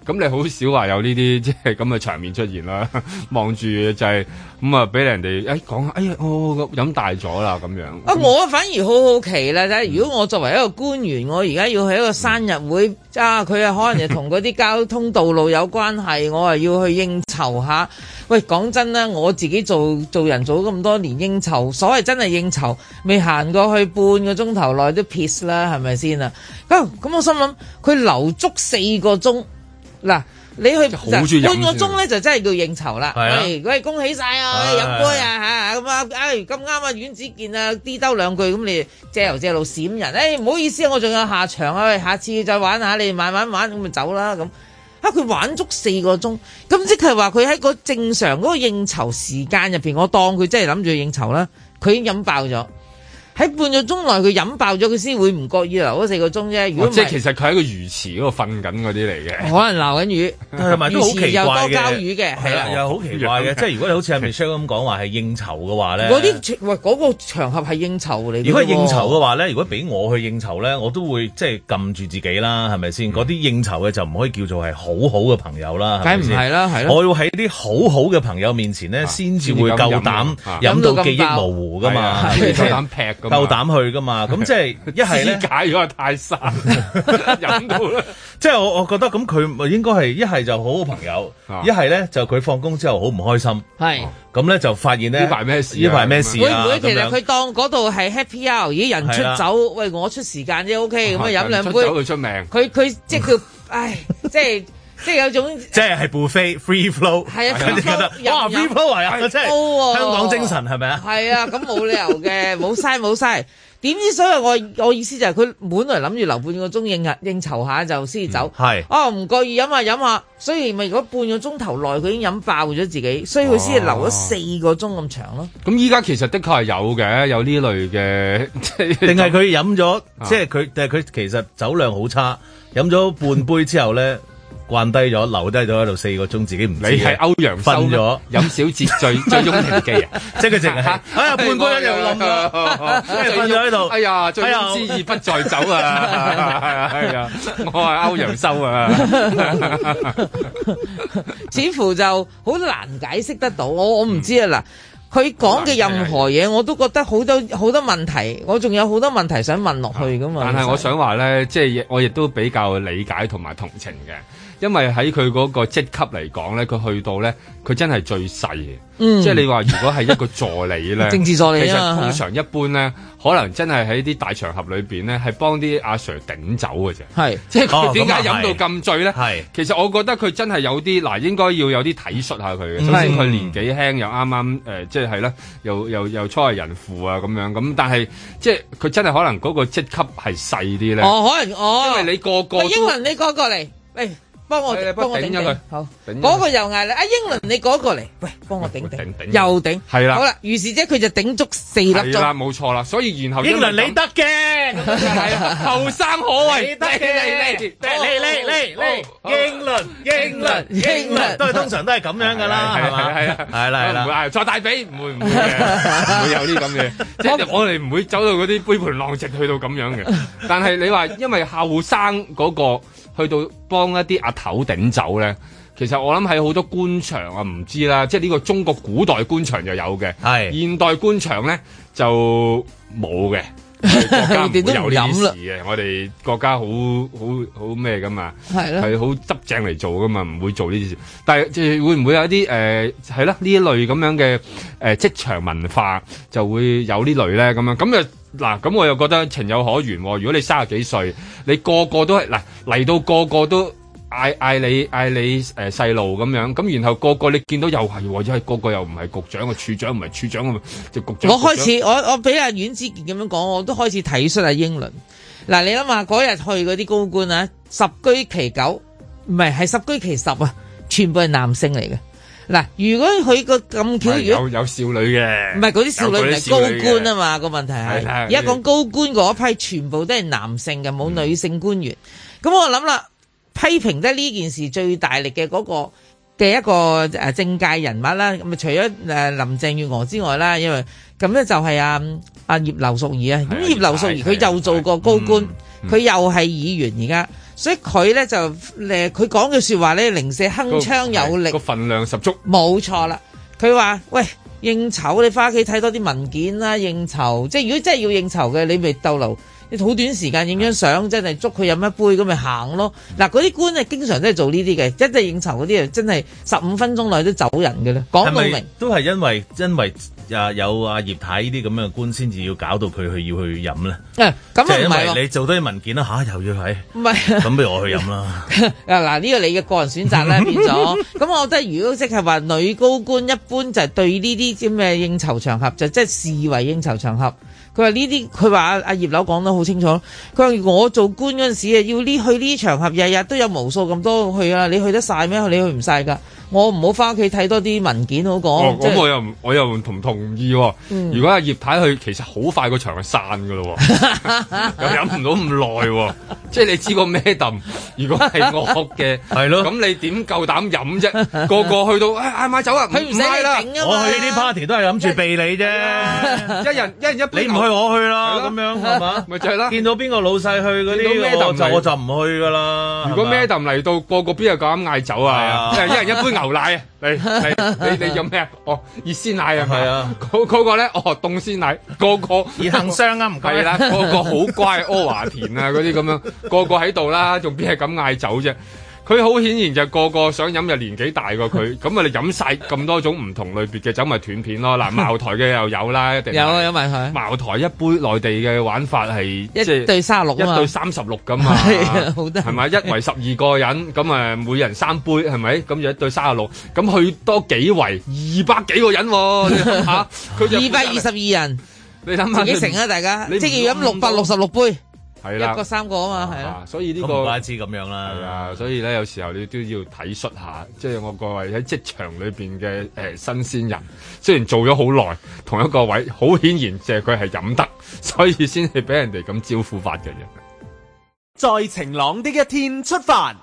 咁你好少話有呢啲即係咁嘅場面出現啦。望住就係咁啊，俾人哋講下，哎呀，我飲大咗啦咁樣。 我反而好好奇啦，如果我作為一個官員，我而家要去一個生日會，佢可能就同嗰啲交通道路有關係，我要去應酬下。喂，講真啦，我自己做人做咁多年應酬，所謂真係應酬，未行過去半個鐘頭內都 piss 啦，係咪先啊？咁我心諗，佢留足4個鐘，嗱。你去半個鐘咧就真係叫應酬啦。喂，恭喜晒啊，飲杯啊嚇咁啊！咁啱啊，阮子健啊，啲兜兩句咁你借油借路閃人。唔好意思啊，我仲有下場啊，下次再玩下，你慢慢玩咁咪走啦咁。佢玩足4個鐘，咁即係話佢喺個正常嗰個應酬時間入邊，我當佢真係諗住應酬啦，佢已經飲爆咗。喺半個鐘內佢飲爆咗，佢先會唔覺意留嗰4個鐘啫。如果即係其實佢喺個魚池嗰度瞓緊嗰啲嚟嘅， 可能撈緊魚， 同埋都好奇怪嘅， 又多膠魚嘅，係啦， 又好奇怪嘅。即係如果你好似阿 Michelle 咁講話係應酬嘅話咧， 嗰個場合係應酬嚟。 如果係應酬嘅話咧，如果俾我去應酬咧，我都會即係撳住自己啦，係咪先？嗰啲應酬嘅就唔可以叫做係好好嘅朋友啦， 梗唔係啦，係咯。 我要喺啲好好嘅朋友面前咧，先至會夠膽飲到記憶模糊噶嘛， 夠膽劈， 夠膽去噶嘛。咁即係一係咧， 解咗泰山飲到咧， 即係我覺得咁佢應該係一係就好好朋友，一係咧就佢放工之後好唔開心， 係咁咧就發現咧呢排咩事？ 呢排咩事啊？ 會唔會其實佢當嗰度係 happy hour，咦人出走，喂我出時間啫 OK，咁啊飲兩杯， 佢出名， 佢即係叫唉，即係有種即係 buffet free flow， 係啊，佢哋覺得哇 free flow 係啊，即係香港精神係咪啊？ 係啊，咁冇理由嘅，冇嘥。點知所以我意思就係佢本來諗住留半個鐘應酬下就先走， 係唔覺意飲下，所以咪如果半個鐘頭內佢已經飲爆咗自己，所以佢先係留咗4個鐘咁長咯。 咁依家其實的確係有呢類嘅， 定係佢飲咗，即係佢其實酒量好差，飲咗半杯之後咧。慣低咗，留低咗喺度4個鐘，自己唔知。 你係歐陽修瞓咗， 飲小節醉翁亭記啊！ 即係佢淨係半杯一樣冧咯，瞓咗喺度。 哎呀，醉翁之意不在酒啊！係啊，我係歐陽修啊！ 似乎就好難解釋得到，我唔知啊嗱。佢講嘅任何嘢，我都覺得好多問題，我仲有好多問題想問落去噶嘛。 但係我想話咧，即係我亦都比較理解同埋同情嘅。因為喺佢嗰個職級嚟講咧，佢去到咧，佢真係最細嘅。即係你話如果係一個助理咧， 政治助理其實通常一般咧，可能真係喺啲大場合裏邊咧，係幫啲阿 Sir 頂酒嘅啫。 係， 即係佢點解飲到咁醉咧？ 係， 其實我覺得佢真係有啲嗱，應該要有啲體恤下佢嘅。首先佢年紀輕，又啱啱即係啦，又初為人父啊咁樣咁，但係即係佢真係可能嗰個職級係細啲咧。 可能因為你個個英文你過嚟，喂。幫我頂咗佢，好，嗰個又嗌啦，英倫你嗰個嚟，喂，幫我頂，又頂， 係啦， 好啦，於是即係佢就頂足4粒鐘， 係啦，冇錯啦，所以然後英倫你得嘅， 後生可畏， 你得嘅，嚟，英倫，都係通常都係咁樣噶啦，係嘛，係啦， 唔會再大髀，唔會嘅，唔會有啲咁嘅，即係我哋唔會走到嗰啲杯盤狼藉去到咁樣嘅，但係你話因為後生嗰個。去到幫一啲阿頭頂酒咧，其實我諗喺好多官場啊，唔知啦，即係呢個中國古代官場就有嘅，係現代官場咧就冇嘅，國家唔會有呢啲事嘅，我哋國家好咩噶嘛，係咯，係好執正嚟做噶嘛，唔會做呢啲事。但係即係會唔會有啲係啦呢一類咁樣嘅職場文化就會有呢類咧咁樣咁啊？嗱，咁我又覺得情有可原喎。如果你30幾歲，你個個都係嗱嚟到個個都嗌你細路咁樣，咁然後個個你見到又係或者係個個又唔係局長嘅處長，唔係處長嘅就局長。我開始我俾阿阮子健咁樣講，我都開始體恤阿英倫。嗱，你諗下嗰日去嗰啲高官啊，10居其9，唔係10居其10啊，全部係男性嚟嘅。嗱，如果佢個咁巧，如果有少女嘅， 唔係嗰啲少女唔係高官啊嘛，個問題係而家講高官嗰批全部都係男性嘅，冇女性官員。咁我諗啦，批評得呢件事最大力嘅嗰個嘅一個政界人物啦，咁啊除咗林鄭月娥之外啦，因為咁咧就係阿葉劉淑儀啊，咁葉劉淑儀佢又做過高官，佢又係議員而家。 所以佢咧就佢講嘅説話咧，零舍鏗鏘有力， 個份量十足。 冇錯啦，佢話喂。應酬你翻屋企睇多啲文件啦，應酬即係如果真係要應酬嘅，你咪逗留你好短時間影張相，真係捉佢飲一杯咁咪行咯。嗱，嗰啲官啊，經常都係做呢啲嘅，真係應酬嗰啲啊，真係15分鐘內都走人嘅咧。講到明都係因為有阿葉太呢啲咁嘅官先至要搞到佢要去飲咧。 咁即係因為你做多啲文件啦又要係，唔係咁不如我去飲啦。 嗱，呢個你嘅個人選擇啦，變咗。咁我覺得如果即係話女高官一般就係對呢啲咁嘅應酬場合就即係視為應酬場合。佢話呢啲，佢話阿葉劉講得好清楚。佢話我做官嗰陣時啊，要去呢啲場合，日日都有無數咁多去啊，你去得晒咩？你去唔晒㗎？我唔好翻屋企睇多啲文件好講。 咁我又唔同意喎。如果阿葉太去，其實好快個場就散㗎咯喎，又飲唔到咁耐喎。即係你知個咩揼？如果係惡嘅，係咯，咁你點夠膽飲啫？個個去到嗌買酒啊，唔買啦！ 我去呢啲 party 都係諗住避你啫，一人一杯，你唔去我去啦，咁樣係嘛？咪就係啦。見到邊個老細去嗰啲，我就唔去㗎啦。如果咩揼嚟到，個邊又夠膽嗌酒啊？一人一杯牛奶啊！你飲咩啊？熱鮮奶啊？係啊，嗰個咧凍鮮奶，個熱杏霜啊，唔該啦，個好乖，阿華田啊嗰啲咁樣，個喺度啦，仲邊係咁嗌酒啫？佢好顯然就個想飲，就年紀大過佢，咁啊你飲晒咁多種唔同類別嘅酒，咪斷片咯。嗱，茅台嘅又有啦，一定有埋佢。茅台一杯內地嘅玩法係一對36啊嘛，一對36咁嘛，係咪？一圍12個人，咁啊每人3杯，係咪？咁就一對36，咁去多幾圍200幾個人喎，你諗下，佢就 222人， 你諗下自己乘啊，大家，即係要飲666杯。 係啦， 一個3個啊嘛，係啦， 所以呢個唔怪之咁樣啦。 係啊，所以咧有時候你都要體恤下，即係我各位喺職場裏邊嘅新鮮人，雖然做咗好耐同一個位，好顯然即係佢係飲得，所以先係俾人哋咁招呼法嘅人。 在晴朗的一天出發，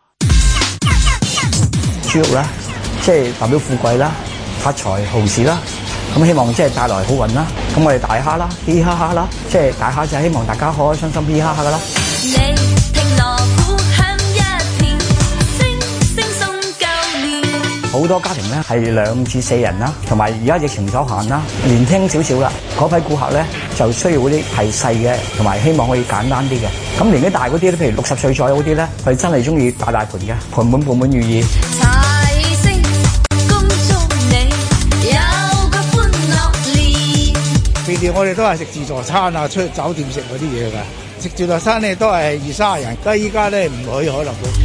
豬肉啦，即係代表富貴啦、發財豪事啦。咁希望即係帶來好運啦，咁我哋大蝦啦，嘻哈哈啦，即係大蝦就係希望大家開開心心嘻哈哈噶啦。你聽鑼鼓響一片，聲聲送舊年。好多家庭咧係2至4人啦，同埋而家疫情所限啦，年輕少少啦，嗰批顧客咧就需要嗰啲係細嘅，同埋希望可以簡單啲嘅。咁年紀大嗰啲咧，譬如60歲左右嗰啲咧，佢真係中意大盤嘅，盤滿寓意。 平時我哋都係食自助餐啊，出去酒店食嗰啲嘢㗎。食自助餐咧都係20-30人，但係依家咧唔可以可能都。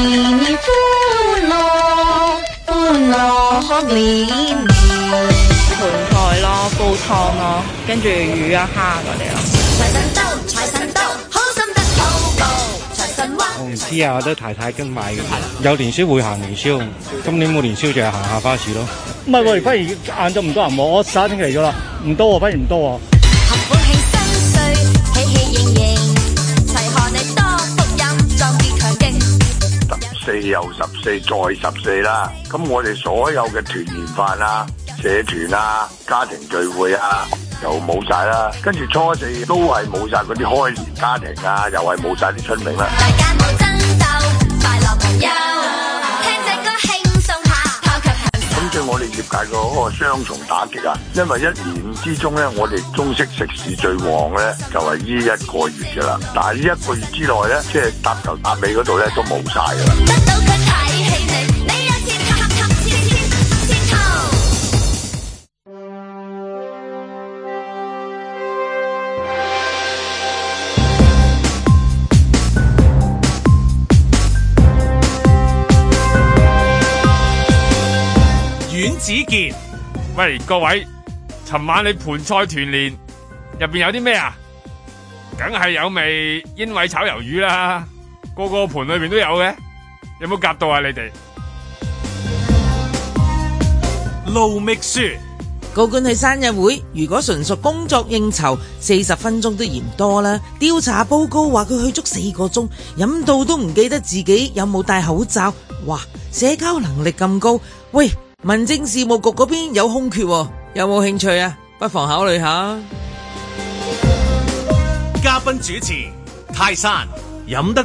歡樂賀年， 盤菜咯，煲湯咯，跟住魚啊蝦嗰啲咯。財神到，財神到，好心得好報，財神話。我唔知啊，我都太太跟買嘅。有年宵會行年宵，今年冇年宵就係行下花市咯。 唔係喎，反而晏晝唔多人喎，我11點嚟咗啦，唔多喎，反而唔多喎。合歡慶新歲，喜喜盈盈，齊賀你多福蔭，壯志強勁。14又14再14啦，咁我哋所有嘅團年飯啊、社團啊、家庭聚會啊，又冇晒啦。跟住初4都係冇晒嗰啲開年家庭啊，又係冇晒啲春茗啦。大家冇爭鬥，快樂朋友。即係我哋業界嗰個雙重打擊啊，因為1年之中咧，我哋中式食肆最旺咧就係呢1個月噶啦，但係呢1個月之內咧，即係搭頭搭尾嗰度咧都冇晒噶啦。得到佢睇起你有錢合錢頭。 阮子健， 喂各位，尋晚你盤菜團年入邊有啲咩啊？梗係有味煙味炒魷魚啦，個盤裏邊都有嘅，有冇夾到啊？你哋盧覓雪， 高官去生日會，如果純屬工作應酬，40分鐘都嫌多啦。調查報告話佢去足4個鐘，飲到都唔記得自己有冇戴口罩。哇，社交能力咁高，喂！民政事務局嗰邊有空缺，有冇興趣啊？不妨考慮下。 嘉賓主持泰山，飲得多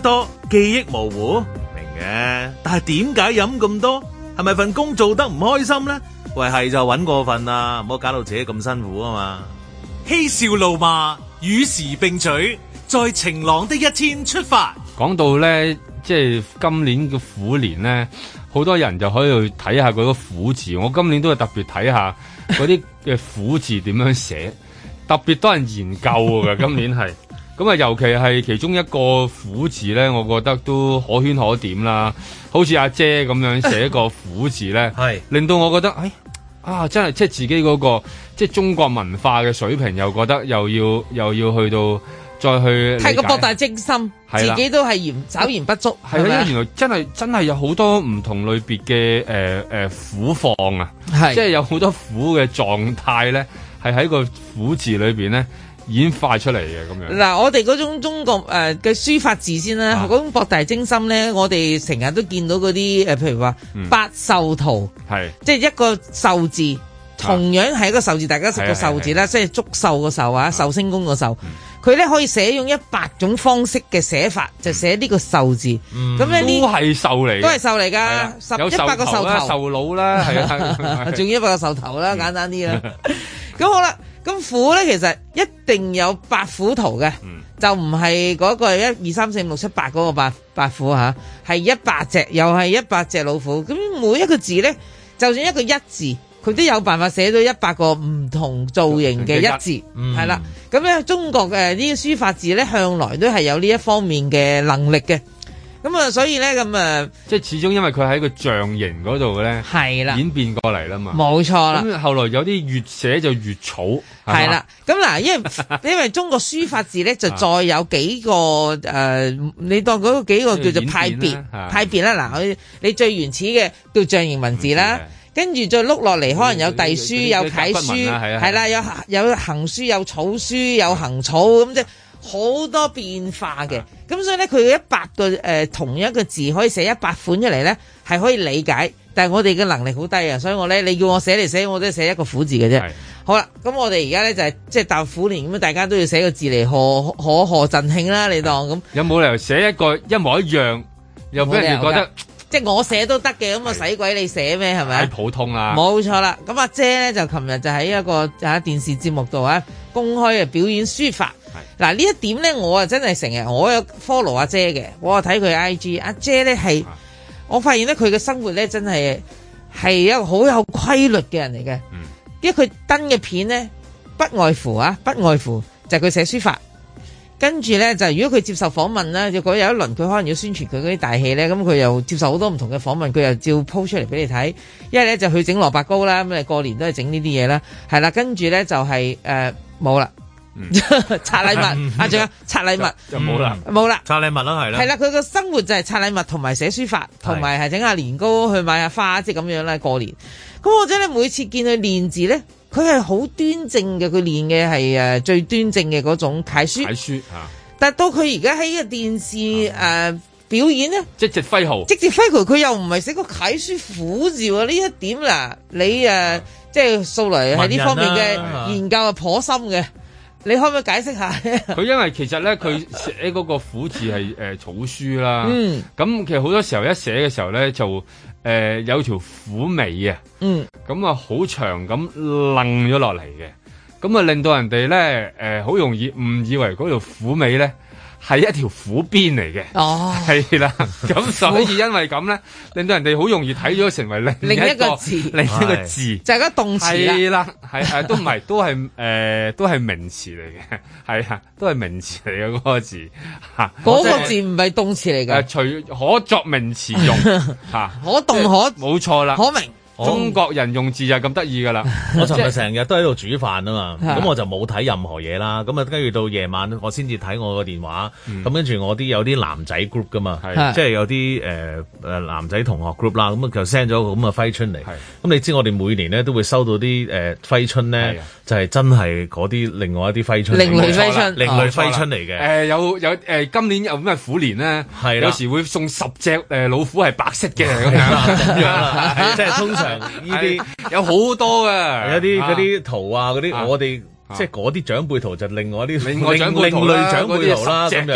記憶模糊，明嘅。但係點解飲咁多？係咪份工做得唔開心咧？喂，係就搵過份啦，唔好搞到自己咁辛苦啊嘛！ 嬉笑怒罵，與時並舉，在晴朗的一天出發。 講到咧，即係今年嘅虎年咧，好多人就可以去睇下嗰個虎字。我今年都係特別睇下嗰啲嘅虎字點樣寫，特別多人研究㗎。今年係咁啊，尤其係其中一個虎字咧，我覺得都可圈可點啦。好似阿姐咁樣寫一個虎字咧，係令到我覺得，真係即係自己嗰個即係中國文化嘅水平，又覺得又要去到再去係個博大精深，自己都係稍嫌不足。 係啊，因為原來真係有好多唔同類別嘅虎況啊，即係有好多虎嘅狀態咧，係喺個虎字裏邊咧演化出嚟嘅咁樣。 嗱，我哋嗰種中國嘅書法字先啦，嗰種博大精深咧，我哋成日都見到嗰啲譬如話百壽圖，即係一個壽字，同樣係一個壽字，大家識個壽字啦，即係祝壽個壽啊，壽星公個壽。佢咧可以寫用100種方式嘅寫法，就寫呢個壽字。咁咧呢都係壽嚟， 都係壽嚟㗎，100個壽頭， 壽佬啦，係啊， 仲要100個壽頭啦，簡單啲啦。咁好啦。咁虎咧，其實一定有八虎圖嘅，就唔係嗰個1、2、3、4、5、6、7、8嗰個八虎吓，係100隻，又係100隻老虎。咁每一個字咧，就算一個一字，佢都有辦法寫到100個唔同造型嘅一字，係啦。咁咧，中國嘅呢啲書法字咧，向來都係有呢一方面嘅能力嘅。咁啊，所以咧， 即係始終因為佢喺個象形嗰度咧，係啦，演變過嚟啦嘛， 冇錯啦。 咁後來有啲越寫就越草， 係啦。咁嗱，因為中國書法字咧，就再有幾個你當嗰幾個叫做派別啦。嗱，你最原始嘅叫象形文字啦，跟住再碌落嚟，可能有隸書、有楷書，係啦，有行書、有草書、有行草咁即係。好多變化嘅，咁所以咧佢100個同一個字可以寫100款出嚟咧，係可以理解。但係我哋嘅能力好低啊，所以你叫我寫嚟寫，我都係寫一個虎字嘅啫。好啦，咁我哋而家咧就係即係踏虎年咁，大家都要寫個字嚟賀振興啦。你當咁有冇理由寫一個一模一樣，又俾人哋覺得即係我寫都得嘅，咁啊使鬼你寫咩？係咪？ 太普通啦。冇錯啦。咁阿姐咧就琴日就喺一個電視節目度公開表演書法。嗱呢一點咧，我真係成日我有 follow 阿姐嘅，我有睇佢 IG。阿姐咧係，我發現咧佢嘅生活咧真係一個好有規律嘅人嚟嘅。因為佢登嘅片咧，不外乎就係佢寫書法。跟住咧就如果佢接受訪問啦，如果有一輪佢可能要宣傳佢嗰啲大戲咧，咁佢又接受好多唔同嘅訪問，佢又照 po 出嚟俾你睇。一係咧就去整蘿蔔糕啦，咁過年都係整呢啲嘢啦，係啦。跟住咧就係冇啦。拆禮物仲有拆禮物就冇啦， 拆禮物啦，係啦，佢個生活就係拆禮物同埋寫書法，同埋係整下年糕去買下花，即係咁樣啦。過年咁我真係每次見佢練字咧，佢係好端正嘅，佢練嘅係最端正嘅嗰種楷書。但係到佢而家喺個電視表演咧， 即直揮毫， 佢又唔係寫個楷書虎字喎。呢一點嗱，你即係素來喺呢方面嘅研究係頗深嘅。你可唔可以解釋下？ 佢因為其實咧，佢寫嗰個虎字係草書啦。咁其實好多時候一寫嘅時候咧，就有條虎尾啊。咁啊好長咁楞咗落嚟嘅，咁啊令到人哋咧好容易誤以為嗰條虎尾咧係一條虎鞭嚟嘅。係啦。咁所以因為咁咧，令到人哋好容易睇咗成為另一個字， 就係個動詞啦。 係都唔係，都係名詞嚟嘅，係啊，都係名詞嚟嘅嗰個字嚇。 嗰個字唔係動詞嚟嘅， 隨可作名詞用嚇， 可動可冇錯啦， 可名。 中國人用字就咁得意噶啦！ 我尋日成日都喺度煮飯啊嘛，咁我就冇睇任何嘢啦。咁啊，跟住到夜晚我先至睇我個電話。咁跟住我有啲男仔 group 噶嘛，即係有啲男仔同學 group 啦。咁就 send 咗個咁嘅揮春嚟。咁你知我哋每年咧都會收到啲揮春咧，就係真係嗰啲另外一啲揮春，另類揮春嚟嘅。 有今年有咩虎年咧？有時會送10隻老虎係白色嘅咁樣啦， 即係通常。呢啲有好多嘅， 有啲嗰啲圖啊，嗰啲我哋即係嗰啲長輩圖就另外啲另類長輩圖啦咁樣。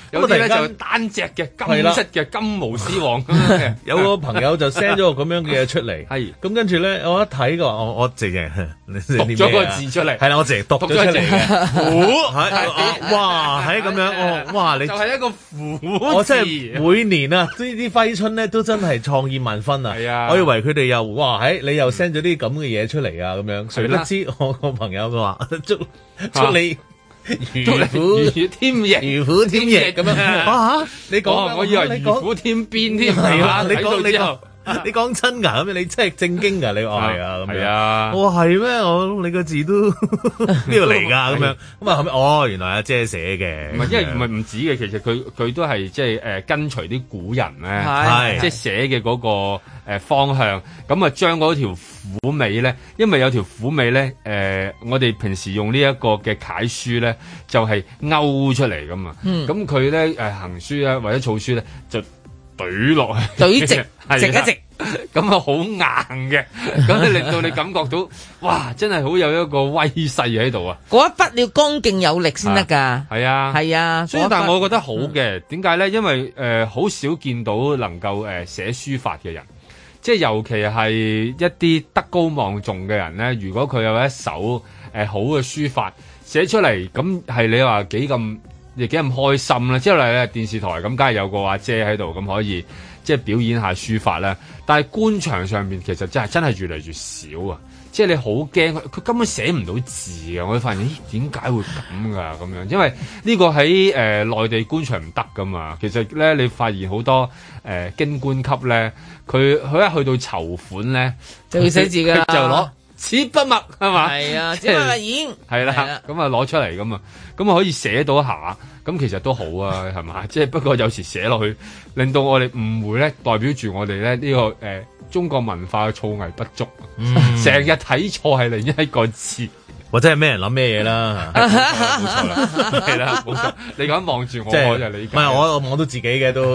有啲咧就單隻嘅金色嘅金毛獅王咁樣嘅。 有個朋友就 send 咗個咁樣嘅嘢出嚟， 係咁跟住咧，我一睇個我直情讀咗個字出嚟， 係啦，我直情讀咗出嚟嘅，虎，哇，係咁樣，哇，你就係一個虎字， 我真係每年啊，呢啲揮春咧都真係創意萬分啊！係啊，我以為佢哋又哇，你又 send 咗啲咁嘅嘢出嚟啊，咁樣，誰不知我個朋友佢話祝你。如虎添翼，如虎添翼咁樣。哇！你講， 我以為如虎添鞭添。 係啊，你講真㗎，咁你真係正經㗎，你話係啊，咁樣。係啊。我話係咩？我你個字都呢度嚟㗎，咁樣。咁啊後尾原來阿姐寫嘅。 唔係，因為唔係唔止嘅，其實佢都係即係跟隨啲古人咧，即係寫嘅嗰個方向。咁啊將嗰條虎尾咧，因為有條虎尾咧，我哋平時用呢一個嘅楷書咧，就係勾出嚟㗎嘛。咁佢咧行書啊或者草書咧就懟落去， 懟直一直， 咁啊好硬嘅，咁令到你感覺到，哇！真係好有一個威勢喺度啊！ 嗰一筆你要剛勁有力先得㗎。係啊，係啊。 所以但係我覺得好嘅，點解咧？因為好少見到能夠寫書法嘅人，即係尤其係一啲德高望重嘅人咧。如果佢有一手好嘅書法寫出嚟，咁係你話幾咁開心啦！即係例如電視台咁，梗係有個阿姐喺度，咁可以即係表演下書法啦。但係官場上面其實真係越嚟越少啊！即係你好驚佢根本寫唔到字啊！我發現點解會咁㗎咁樣？因為呢個喺內地官場唔得㗎嘛。其實咧，你發現好多京官級咧，佢一去到籌款咧， 就要寫字㗎啦， 就攞紙筆墨係嘛？ 係啊，紙筆墨硯係啦，咁啊攞出嚟咁啊，咁啊可以寫到下，咁其實都好啊，係嘛？即係不過有時寫落去，令到我哋誤會咧，代表住我哋咧呢個中國文化嘅造詣不足，成日睇錯係另一個字。 或者係咩人諗咩嘢啦？ 冇錯啦，係啦，冇錯。你咁望住我，我就理解。 唔係我望到自己嘅都。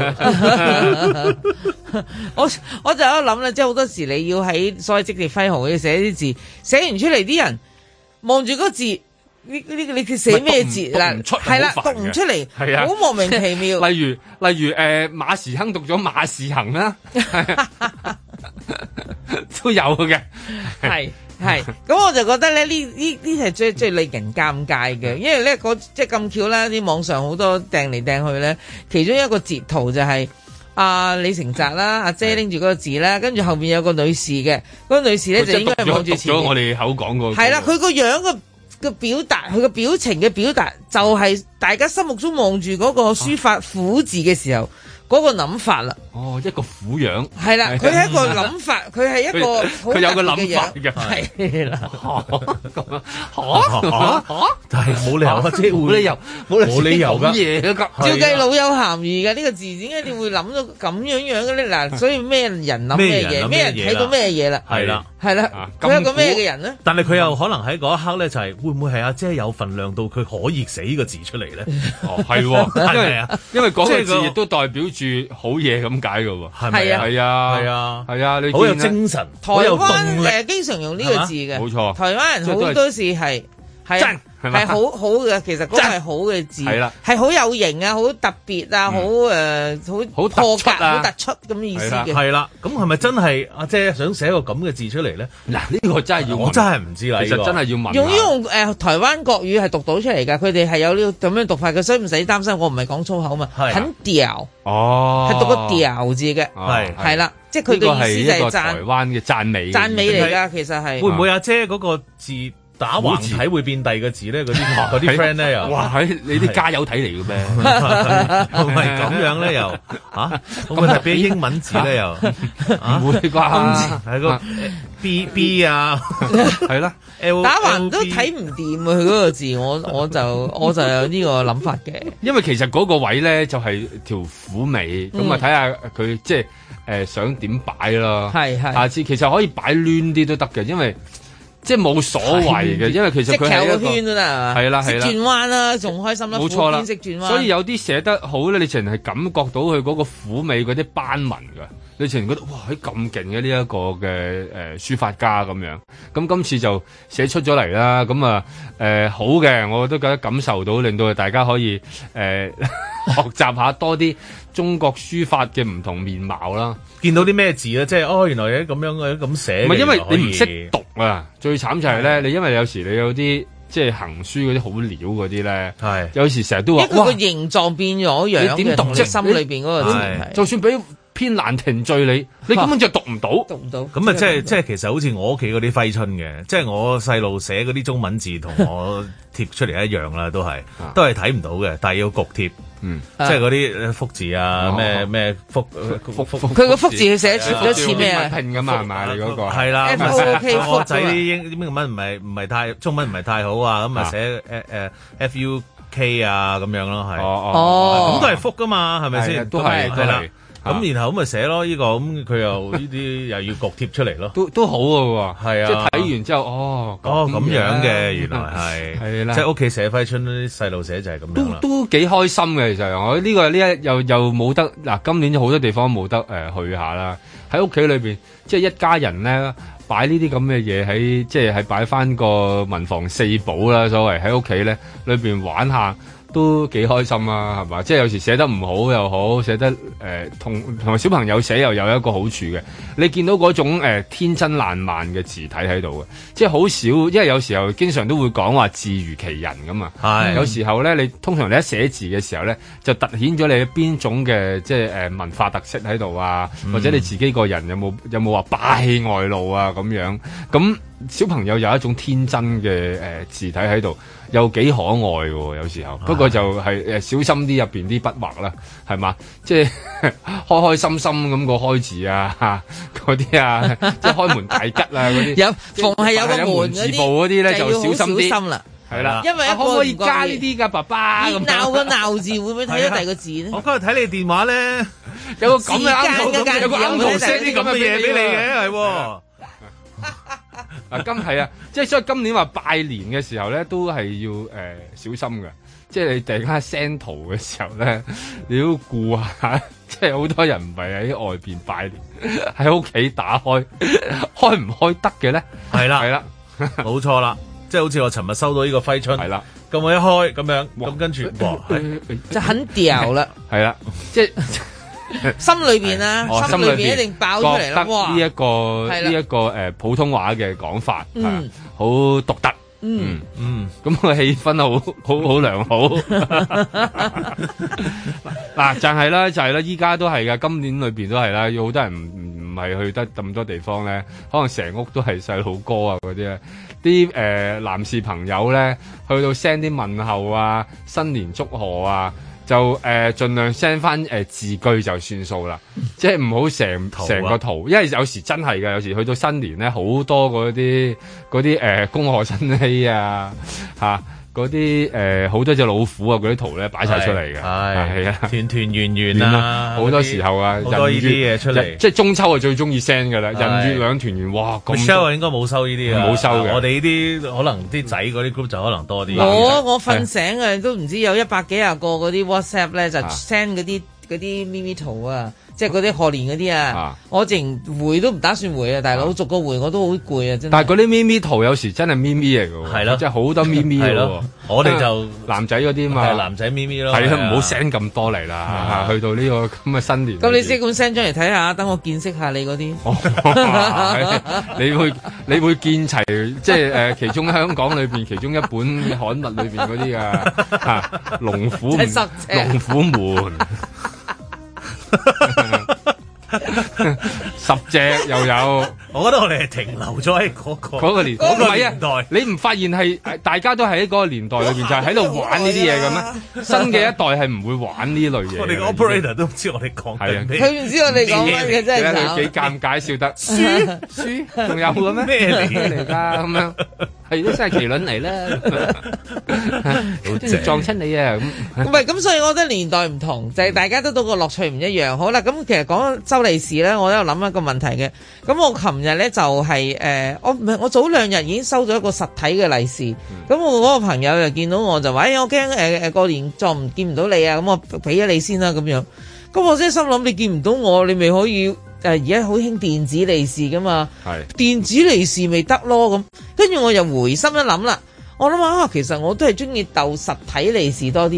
我就喺度諗啦，即係好多時你要喺所謂積極揮毫要寫啲字，寫完出嚟啲人望住嗰字，你寫咩字嗱？係啦，讀唔出嚟，係啊，好莫名其妙。 例如馬時亨讀咗馬時亨啦，都有嘅， 係，咁我就覺得咧呢係最令人尷尬嘅，因為咧即係咁巧啦，啲網上好多掟嚟掟去咧，其中一個截圖就係李成澤啦，阿姐拎住嗰個字啦，跟住後面有個女士嘅，嗰個女士咧就應該係望住前面。 讀咗我哋口講過。 係啦，佢個樣個表達，佢個表情嘅表達，就係大家心目中望住嗰個書法虎字嘅時候。嗰個諗法啦， 一個虎樣係啦，佢係一個諗法，佢係一個佢有個諗法嘅， 係啦， 但係冇理由啊，即係冇理由噶， 照計老有鹹魚嘅呢個字，點解你會諗到咁樣嘅咧？嗱，所以咩人諗咩嘢，咩人睇到咩嘢啦？係啦，係啦，佢係個咩嘅人咧？ 但係佢又可能喺嗰一刻咧，就係會唔會係阿姐有份量到佢可以寫呢個字出嚟咧？ 係，因為嗰個字亦都代表住好嘢咁解噶喎，係咪啊？係啊，你好有精神， 台灣經常用呢個字嘅， 冇錯。 台灣人好多時係好好嘅，其實嗰個係好嘅字，係好有型啊，好特別啊，好破格，好突出咁嘅意思嘅。 係啦，咁係咪真係阿姐想寫個咁嘅字出嚟咧？ 嗱，呢個真係要， 我真係唔知啦。 其實真係要問。 用台灣國語係讀到出嚟㗎，佢哋係有呢個咁樣讀法嘅，所以唔使擔心。我唔係講粗口嘛，很屌係讀個屌字嘅，係啦，即係佢嘅意思就係台灣嘅讚美嚟㗎，其實係會唔會阿姐嗰個字打橫體會變第二個字咧？嗰啲 friend 咧又哇，你啲加油體嚟嘅咩？ 唔係咁樣咧又咁咪係變英文字咧又唔會啩？ 係個 B 啊，係啦， 打橫都睇唔掂啊！佢嗰個字，我就有呢個諗法嘅。 因為其實嗰個位咧就係條虎尾，咁啊睇下佢即係想點擺咯。係下次其實可以擺攣啲都得嘅，因為。即係冇所謂嘅，因為其實佢係一個圈都得係啦，識轉彎啦，仲開心啦， 冇錯啦， 識轉彎。 所以有啲寫得好咧，你淨係感覺到佢嗰個虎尾嗰啲斑紋㗎，你淨係覺得哇，喺咁勁嘅呢一個嘅書法家咁樣。咁今次就寫出咗嚟啦，咁啊好嘅，我都覺得感受到，令到大家可以學習下多啲中國書法嘅唔同面貌啦。 見到啲咩字咧，即係原來有咁樣嘅咁寫。唔係因為你唔識讀啊，最慘就係咧，你因為有時你有啲即係行書嗰啲好料嗰啲咧，係有時成日都話， 因為佢個形狀變咗樣，你點讀啫？心裏邊嗰個字， 就算俾篇蘭亭序你根本就讀唔到， 咁啊，即係其實好似我屋企嗰啲揮春嘅，即係我細路寫嗰啲中文字同我貼出嚟一樣啦，都係睇唔到嘅，但係要焗貼，即係嗰啲福字啊，咩福， 佢個福字佢寫咗似咩啊？ 拼噶嘛係咪？你嗰個係啦， 我仔啲英文唔係太中文唔係太好啊，咁啊寫FUK 啊咁樣咯，係咁都係福噶嘛，係咪先？ 都係啦。 咁然後咁咪寫咯，呢個咁佢又呢啲又要焗貼出嚟咯， 都好嘅喎，係啊，即係睇完之後， 咁樣嘅原來係啦，即係屋企寫揮春啲細路寫就係咁樣啦， 都幾開心嘅。其實我呢個呢一又冇得嗱，今年好多地方冇得去下啦，喺屋企裏邊即係一家人咧擺呢啲咁嘅嘢喺即係擺翻個文房四寶啦，所謂喺屋企咧裏邊玩下。都幾開心啊，係嘛？即係有時寫得唔好又好，寫得同埋小朋友寫又有一個好處嘅。你見到嗰種天真爛漫嘅字體喺度嘅，即係好少，因為有時候經常都會講話字如其人咁啊。係有時候咧，你通常你一寫字嘅時候咧，就突顯咗你邊種嘅即係文化特色喺度啊，或者你自己個人有冇話霸氣外露啊咁樣。咁小朋友有一種天真嘅字體喺度。又幾可愛喎，有時候。不過就係小心啲入邊啲筆畫啦，係嘛？即係開開心心咁個開字啊，嗰啲啊，即係開門大吉啊嗰啲。有逢係有個門字部嗰啲咧，就小心啲啦。 係啦， 因為可唔可以加呢啲㗎，爸爸？ 鬧個鬧字會唔會睇到第二個字咧？ 我今日睇你電話咧， 有個咁嘅啱圖，有個啱圖 send 啲咁嘅嘢俾你嘅，係喎。係啊，即係所以今年話拜年嘅時候咧，都係要小心嘅。即係你突然間 send 圖嘅時候咧，你要顧下。即係好多人唔係喺外邊拜年，喺屋企打開，開唔開得嘅咧？係啦， 冇錯啦。即係好似我尋日收到呢個揮春，係啦，咁我一開咁樣，咁跟住就很掉啦。 係啦，即係。 心裏邊啊，心裏邊一定爆出嚟啦！哇， 呢一個普通話嘅講法，好獨特，咁個氣氛好良好。嗱，就係啦，依家都係噶，今年裏邊都係啦，有好多人唔係去得咁多地方咧，可能成屋都係細路哥啊嗰啲咧，啲男士朋友咧去到 send 啲問候啊，新年祝賀啊。就盡量 send 翻字句就算數啦，即係唔好成個圖，因為有時真係㗎，有時去到新年咧，好多嗰啲恭賀新禧啊嚇。嗰啲好多隻老虎啊，嗰啲圖咧擺晒出嚟嘅，係啊，團團圓圓啊，好多時候啊， 好多呢啲嘢出嚟， 即係中秋係最中意 send 㗎啦，人月兩團圓，哇！咁 Michelle 應該冇收呢啲啊， 冇收嘅， 我哋呢啲可能啲仔嗰啲 group 就可能多啲。 我瞓醒啊，都唔知有100幾廿個嗰啲 WhatsApp 咧，就 send 嗰啲咪咪圖啊。即係嗰啲賀年嗰啲啊，我淨回都唔打算回啊，大佬逐個回我都好攰啊，真係。 但係嗰啲咪咪圖有時真係咪咪嚟㗎喎， 係咯， 即係好多咪咪㗎喎。 我哋就男仔嗰啲嘛， 係男仔咪咪咯。 係啊，唔好 send 咁多嚟啦，去到呢個咁嘅新年。 咁你先咁 send 咗嚟睇下，等我見識下你嗰啲。 你會見齊，即係其中香港裏邊其中一本刊物裏邊嗰啲啊，龍虎門。10隻又有， 我覺得我哋係停留咗喺嗰個年代。 你唔發現係大家都喺嗰個年代裏邊就係喺度玩呢啲嘢嘅咩？新嘅一代係唔會玩呢類嘢。 我哋個 operator 都唔知我哋講緊咩， 佢唔知我哋講乜嘅真係慘。 幾尷尬笑得書仲有嘅咩？咩嚟㗎咁樣？係都真係麒麟嚟啦，撞親你啊咁。 唔係咁，所以我覺得年代唔同，就係大家得到個樂趣唔一樣。好啦，咁其實講收利是咧，我都有諗一個問題嘅。咁我琴日咧就係我早2日已經收咗一個實體嘅利是。咁我嗰個朋友又見到我就話：我驚過年再唔見唔到你啊！咁我俾咗你先啦咁樣。咁我真係心諗，你見唔到我，你咪可以。而家好興電子利是噶嘛，電子利是咪得咯咁，跟住我又回心一諗啦，我諗下其實我都係中意鬥實體利是多啲嘅，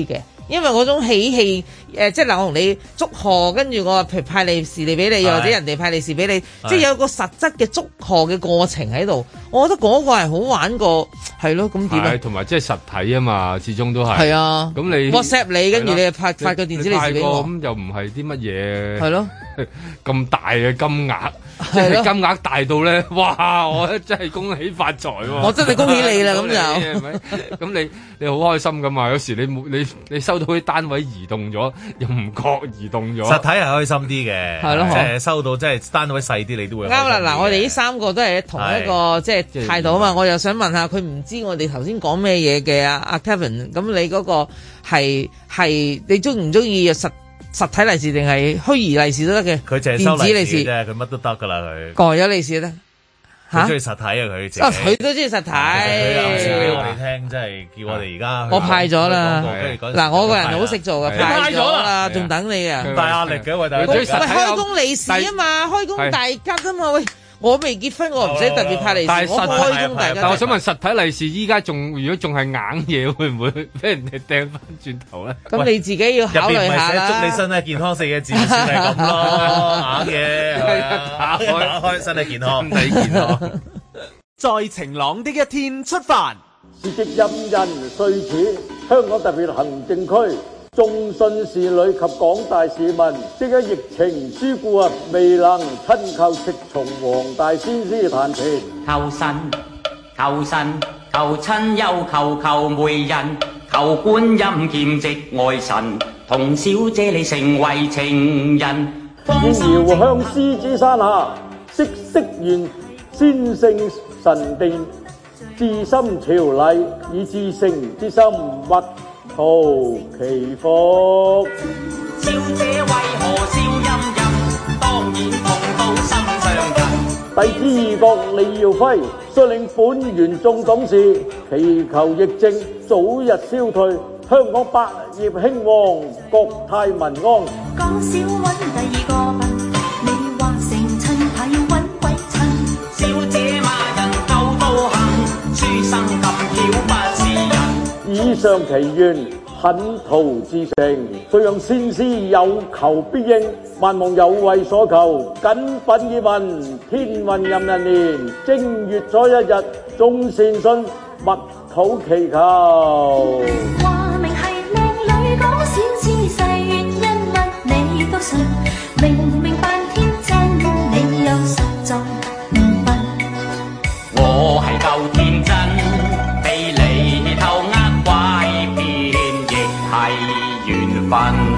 因為嗰種喜氣即係嗱，我同你祝賀，跟住我話派利是嚟俾你，或者人哋派利是俾你，即係有個實質嘅祝賀嘅過程喺度。我覺得嗰個係好玩過，係咯，咁點啊？同埋即係實體啊嘛，始終都係。係啊，咁你 WhatsApp 你，跟住你發個電子利是俾我，咁又唔係啲乜嘢？係咯，咁大嘅金額，即係金額大到咧，哇！我真係恭喜發財喎！我真係恭喜你啦，咁就係咪？咁你好開心噶嘛？有時你收到啲單位移動咗，又唔覺移動咗。實體係開心啲嘅，係咯，即係收到即係單位細啲，你都會啱啦。嗱，我哋呢三個都係同一個即係態度啊嘛。我又想問下佢唔知我哋頭先講咩嘢嘅阿 Kevin，咁你嗰個係你中唔中意實體利是定係虛擬利是都得嘅？佢淨係收利是啫，佢乜都得噶啦佢。過咗利是得。佢中意實體啊！佢自己佢都中意實體。佢有時俾我哋聽，即係叫我哋而家。我派咗啦。嗱，我個人好識做嘅，派咗啦，仲等你啊！大壓力嘅喂，大家。喂，開工利是啊嘛，開工大吉啊嘛，喂。我未結婚，我唔使特別派利是。我開工大吉。但我想問實體利是依家如果仲係硬嘢，會唔會俾人哋掟翻轉頭咧？咁你自己要考慮下啦。祝你身體健康4個字算係咁咯，硬嘢。打開身體健康，身體健康。 在晴朗的一天出發。 時值壬寅歲始，香港特別行政區眾信士女及廣大市民，即因疫情諸故未能親叩赤松黃大仙師壇前，求神求神求親友求媒人，求觀音劍直愛神，同小姐你成為情人。現遙向獅子山下，息息願先聖神殿，至心朝禮以至誠之心勿圖其福。小姐為何笑吟吟？當然同到心上人。弟子義覺李耀輝率領本縣眾董事，祈求疫症早日消退，香港百業興旺，國泰民安。講少揾第二個笨，你話成親係揾鬼親。小姐罵人夠道行，書生咁巧不是人。以上祈願懇圖至誠，遂讓先師有求必應，萬望有為所求。謹稟以問，天運壬寅年正月初1日，眾善信勿討祈求。話明係靚女講小事細原因乜你都信，明明扮天真，你又實在唔笨。我係夠天真，被你偷呃拐騙，亦係緣分。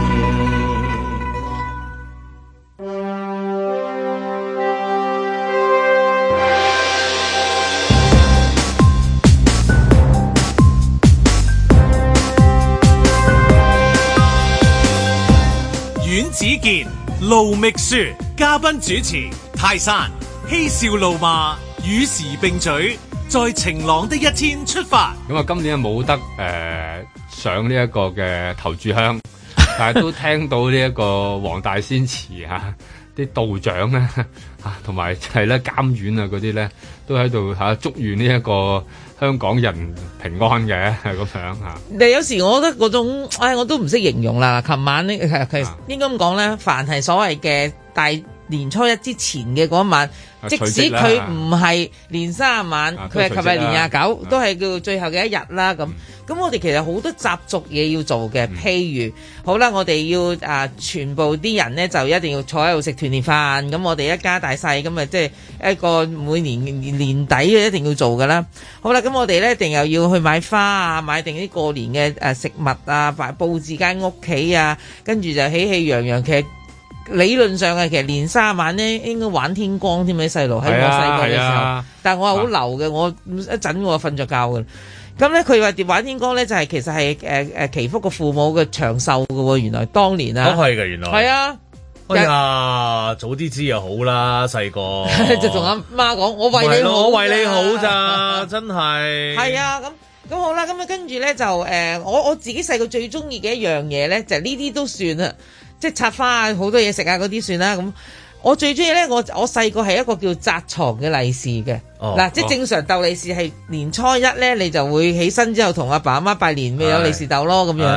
阮子健、盧覓雪，嘉賓主持泰山，嬉笑怒罵，與時並舉，在晴朗的一天出發。 咁啊，今年冇得上呢一個嘅頭炷香，但係都聽到呢一個黃大仙祠啲道長咧同埋係咧監院啊嗰啲咧，都喺度祝願呢一個香港人平安嘅咁樣嚇。 但有時我覺得嗰種，我都唔識形容啦。琴晚呢，其實應該咁講咧，凡係所謂嘅大年初一之前嘅嗰晚，即使佢唔係年30晚，佢係琴日年29，都係叫最後嘅一日啦。咁我哋其實好多習俗嘢要做嘅，譬如好啦，我哋要全部啲人咧就一定要坐喺度食團年飯。咁我哋一家大細咁啊，即係一個每年年底嘅一定要做噶啦。好啦，咁我哋咧一定又要去買花啊，買定啲過年嘅食物啊，佈置間屋企啊，跟住就喜氣洋洋。其實理論上其實年30晚咧應該玩天光添，啲細路喺我細個嘅時候，但係我係好流嘅，我一陣我瞓着覺嘅。咁咧佢話玩天光咧就係其實係祈福個父母嘅長壽嘅喎，原來當年啊，都係嘅原來。係啊，哎呀，早啲知又好啦，細個就同阿媽講，我為你好，我為你好咋，真係。係啊，咁好啦，咁啊跟住咧就我自己細個最中意嘅一樣嘢咧，就呢啲都算啦，即係插花啊，好多嘢食啊嗰啲算啦咁。我最中意咧，我細個係一個叫紮床嘅利是嘅。嗱，即係正常鬥利是係年初一咧，你就會起身之後同阿爸阿媽拜年，咪有利是鬥咯咁樣。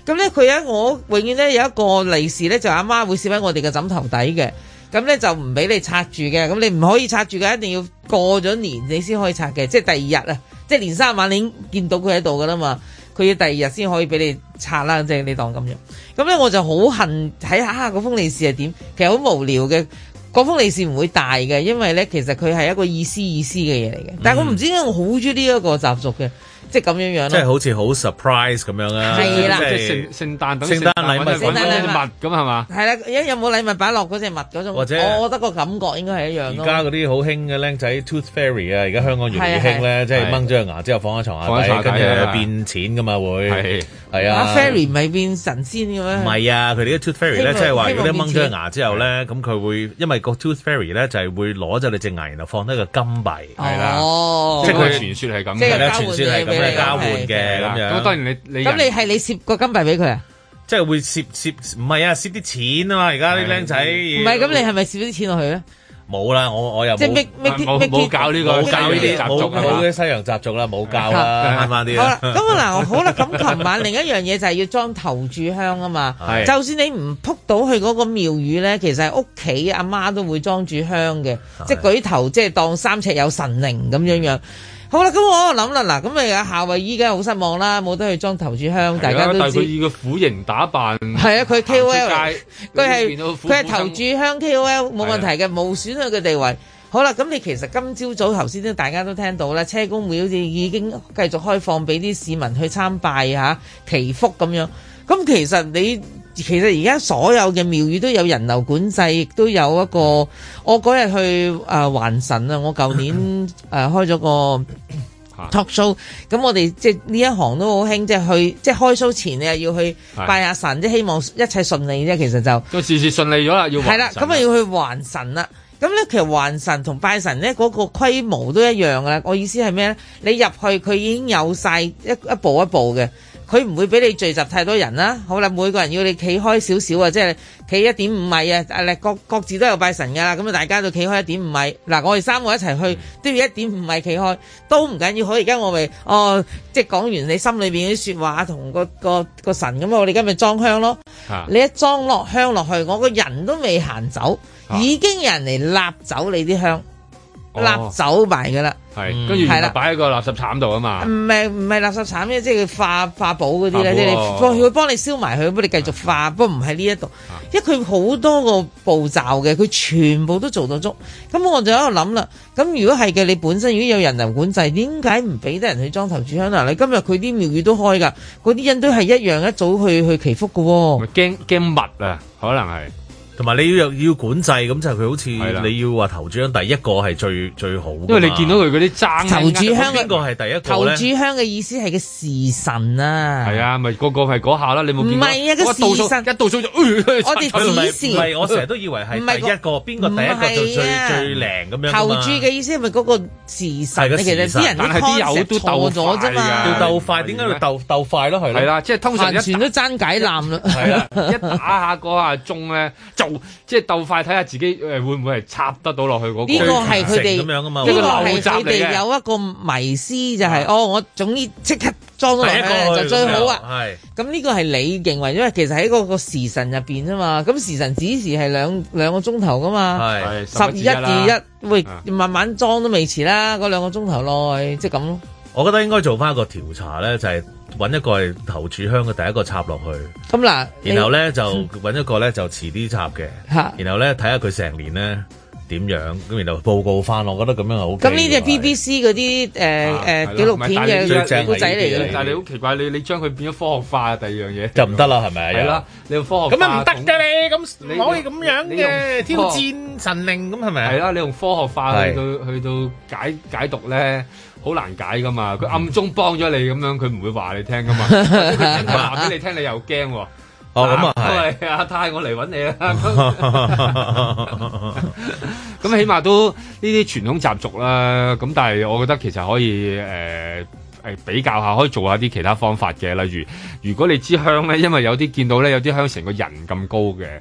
咁咧佢我永遠咧有一個利是咧，就阿媽會攝喺我哋嘅枕頭底嘅。咁咧就唔俾你拆住嘅，咁你唔可以拆住嘅，一定要過咗年你先可以拆嘅，即係第二日啊，即係年三十晚你已經見到佢喺度噶啦嘛，佢要第二日先可以俾你拆啦，即係你當咁樣。咁咧我就好恨睇下嗰封利是係點，其實好無聊嘅，嗰封利是唔會大嘅，因為咧其實佢係一個意思嘅嘢嚟嘅，但係我唔知點解我好中意呢一個習俗嘅。即係咁樣樣咯， 即係好似好 surprise 咁樣啊！ 係啦， 即係聖誕禮物咁係嘛？ 係啦，有冇禮物擺落嗰隻襪嗰種？或者我覺得個感覺應該係一樣咯。 而家嗰啲好興嘅僆仔 Tooth Fairy 啊，而家香港越嚟越興咧，即係掹咗個牙之後放喺床下底，跟住變錢噶嘛會。係啊 ，Fairy 唔係變神仙嘅咩？ 唔係啊，佢哋啲 Tooth Fairy 咧，即係話如果你掹咗個牙之後咧，咁佢會因為個 Tooth Fairy 咧就係會攞咗你隻牙，然後放低個金幣，係啦，即係佢傳說係咁，係啦，傳說係咁嘅交換嘅。咁樣， 咁當然你咁你係你攝個金幣俾佢啊？ 即係會攝唔係啊，攝啲錢啊嘛！而家啲僆仔唔係咁，你係咪攝啲錢落去咧？ 冇啦，我又即係冇教呢個， 冇教呢啲習俗，冇啲西洋習俗啦，冇教啦，慳翻啲啦。 好啦，咁嗱，好啦，咁琴晚另一樣嘢就係要裝頭炷香啊嘛。就算你唔撲到去嗰個廟宇咧，其實係屋企阿媽都會裝住香嘅，即係舉頭，即係當三尺有神靈咁樣樣。好啦，咁我諗啦，嗱，咁你阿夏慧依家好失望啦，冇得去裝頭炷香，大家都知。 但係佢以個苦型打扮， 係啊，佢 KOL，佢係頭炷香 KOL 冇問題嘅，冇損佢嘅地位。好啦，咁你其實今朝早頭先都大家都聽到啦，車公廟好似已經繼續開放俾啲市民去參拜嚇祈福咁樣。咁其實而家所有嘅廟宇都有人流管制，亦都有一個。我嗰日去還神啊！我舊年開咗個 talk show，咁我哋即係呢一行都好興，即係去即係開 show 前你又要去拜下神，即係希望一切順利啫。其實就事事順利咗啦，要係啦，咁啊要去還神啦。咁咧其實還神同拜神咧嗰個規模都一樣啦。我意思係咩咧？你入去佢已經有晒一步一步嘅。佢唔會俾你聚集太多人啦。好啦，每個人要你企開少少啊，即係企1.5米啊。各自都有拜神噶啦，咁啊大家都企開1.5米。嗱，我哋3個一齊去都要1.5米企開，都唔緊要。好，而家我咪即係講完你心裏邊啲說話同個神咁，我哋今日裝香咯。你一裝落香落去，我個人都未行走，已經有人嚟揦走你啲香，揦走埋噶啦。 係，跟住然後擺喺個垃圾鏟度啊嘛。唔係垃圾鏟咩？即係化寶嗰啲咧，即係佢會幫你燒埋佢，幫你繼續化。不過唔喺呢一度，因為佢好多個步驟嘅，佢全部都做到足。咁我就喺度諗啦。咁如果係嘅，你本身如果有人流管制，點解唔俾得人去裝頭炷香啊？你今日佢啲廟宇都開㗎，嗰啲人都係一樣一早去祈福㗎喎。 驚密啊，可能係。 同埋你要管制，咁就佢好似你要話頭炷香第一個係最好， 因為你見到佢嗰啲爭頭炷香邊個係第一個頭炷香嘅意思係個時辰啊， 係啊，咪個係嗰下啦，你冇見過？ 唔係啊，個時辰一倒數就我哋指示， 唔係我成日都以為係第一個邊個第一個就最靚咁樣。 頭炷嘅意思係咪嗰個時辰？其實啲人啲 concept 都錯咗啫嘛， 要鬥快，點解要鬥快咯？係啦，即係通常全都爭解攬啦， 係啦，一打下嗰下鐘咧就即係鬥快睇下自己會唔會係插得到落去嗰個？ 呢個係佢哋咁樣噶嘛？ 呢個係佢哋有一個迷思就係我總之即刻裝咗落去就最好啊！係咁呢個係你認為，因為其實喺嗰個時辰入邊啊嘛，咁時辰指示係兩個鐘頭噶嘛，係11:1，喂，慢慢裝都未遲啦，嗰2個鐘頭內即係咁咯。 我覺得應該做翻一個調查咧，就係揾一個係頭炷香嘅第一個插落去。 咁嗱， 然後咧就揾一個咧就遲啲插嘅。然後咧睇下佢成年咧點樣，咁然後報告翻。我覺得咁樣係好。咁呢啲係 BBC 嗰啲紀錄片嘅古仔嚟嘅。 但係你好奇怪，你將佢變咗科學化第二樣嘢就唔得啦，係咪？ 係啦，你用科學咁啊唔得嘅你，咁唔可以咁樣嘅挑戰神靈咁係咪？係啦，你用科學化去到解讀咧。好難解噶嘛，佢暗中幫咗你咁樣，佢唔會話你聽噶嘛。佢話俾你聽，你又驚喎。 哦，咁啊係阿太，我嚟揾你啦。咁起碼都呢啲傳統習俗啦。咁但係我覺得其實可以比較下，可以做下啲其他方法嘅。例如，如果你支香咧，因為有啲見到咧，有啲香成個人咁高嘅。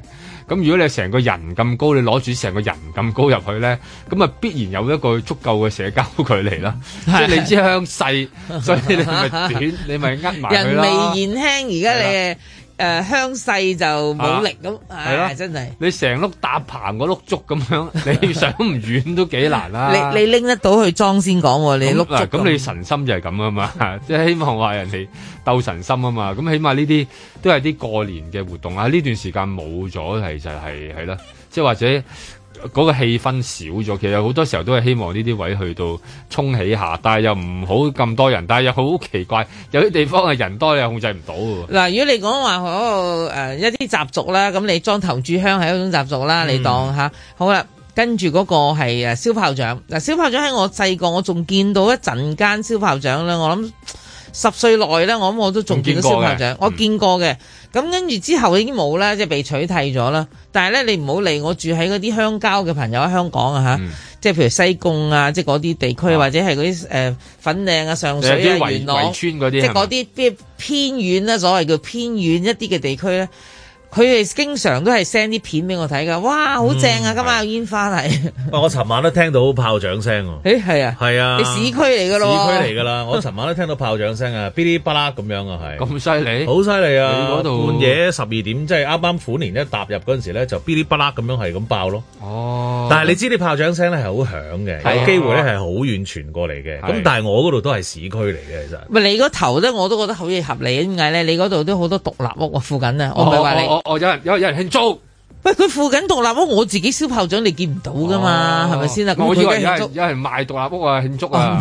咁如果你係成個人咁高，你攞住成個人咁高入去咧，咁啊必然有一個足夠嘅社交距離啦。即係你知鄉細，所以你咪短，你咪呃埋佢啦。 人微言輕，而家你鄉細就冇力咁，係真係。你成碌搭棚嗰碌竹咁樣，你想唔遠都幾難啦。你拎得到去裝先講，你碌竹咁你神心就係咁啊嘛，即係希望話人哋鬥神心啊嘛。咁起碼呢啲都係啲過年嘅活動啊。呢段時間冇咗，其實係啦，即係或者。嗰個氣氛少咗，其實好多時候都係希望呢啲位去到衝起下，但係又唔好咁多人，但係又好奇怪，有啲地方係人多你又控制唔到喎。嗱，如果你講話嗰個一啲習俗啦，咁你裝頭炷香係一種習俗啦，你當下好啦，跟住嗰個係燒炮仗。嗱，燒炮仗喺我細個我仲見到一陣間燒炮仗啦，我諗10歲內咧，我諗我都仲見到燒炮仗，我見過嘅。咁跟住之後已經冇啦，即係被取締咗啦。但係咧，你唔好理我住喺嗰啲鄉郊嘅朋友喺香港啊嚇，即係譬如西貢啊，即係嗰啲地區，或者係嗰啲粉嶺啊、上水啊、元朗，即係嗰啲偏遠啦，所謂叫偏遠一啲嘅地區咧。佢哋經常都係 send 啲片俾我睇㗎，哇，好正啊！今晚有煙花係。我尋晚都聽到炮仗聲喎。係啊。係啊。你市區嚟㗎咯。市區嚟㗎啦，我尋晚都聽到炮仗聲啊，噼哩啪啦咁樣啊，係。咁犀利？好犀利啊！你嗰度半夜12點，即係啱啱虎年一踏入嗰陣時咧，就噼哩啪啦咁樣係咁爆咯。哦。但係你知啲炮仗聲咧係好響嘅，有機會咧係好遠傳過嚟嘅。咁但係我嗰度都係市區嚟嘅，其實。咪你嗰頭咧，我都覺得好嘢合理。點解咧？你嗰度都好多獨立屋附近啊，我唔係話你。有人慶祝，喂！佢附近獨立屋，我自己燒炮仗，你見唔到噶嘛？係咪先啊？我以為有人賣獨立屋啊，慶祝啊！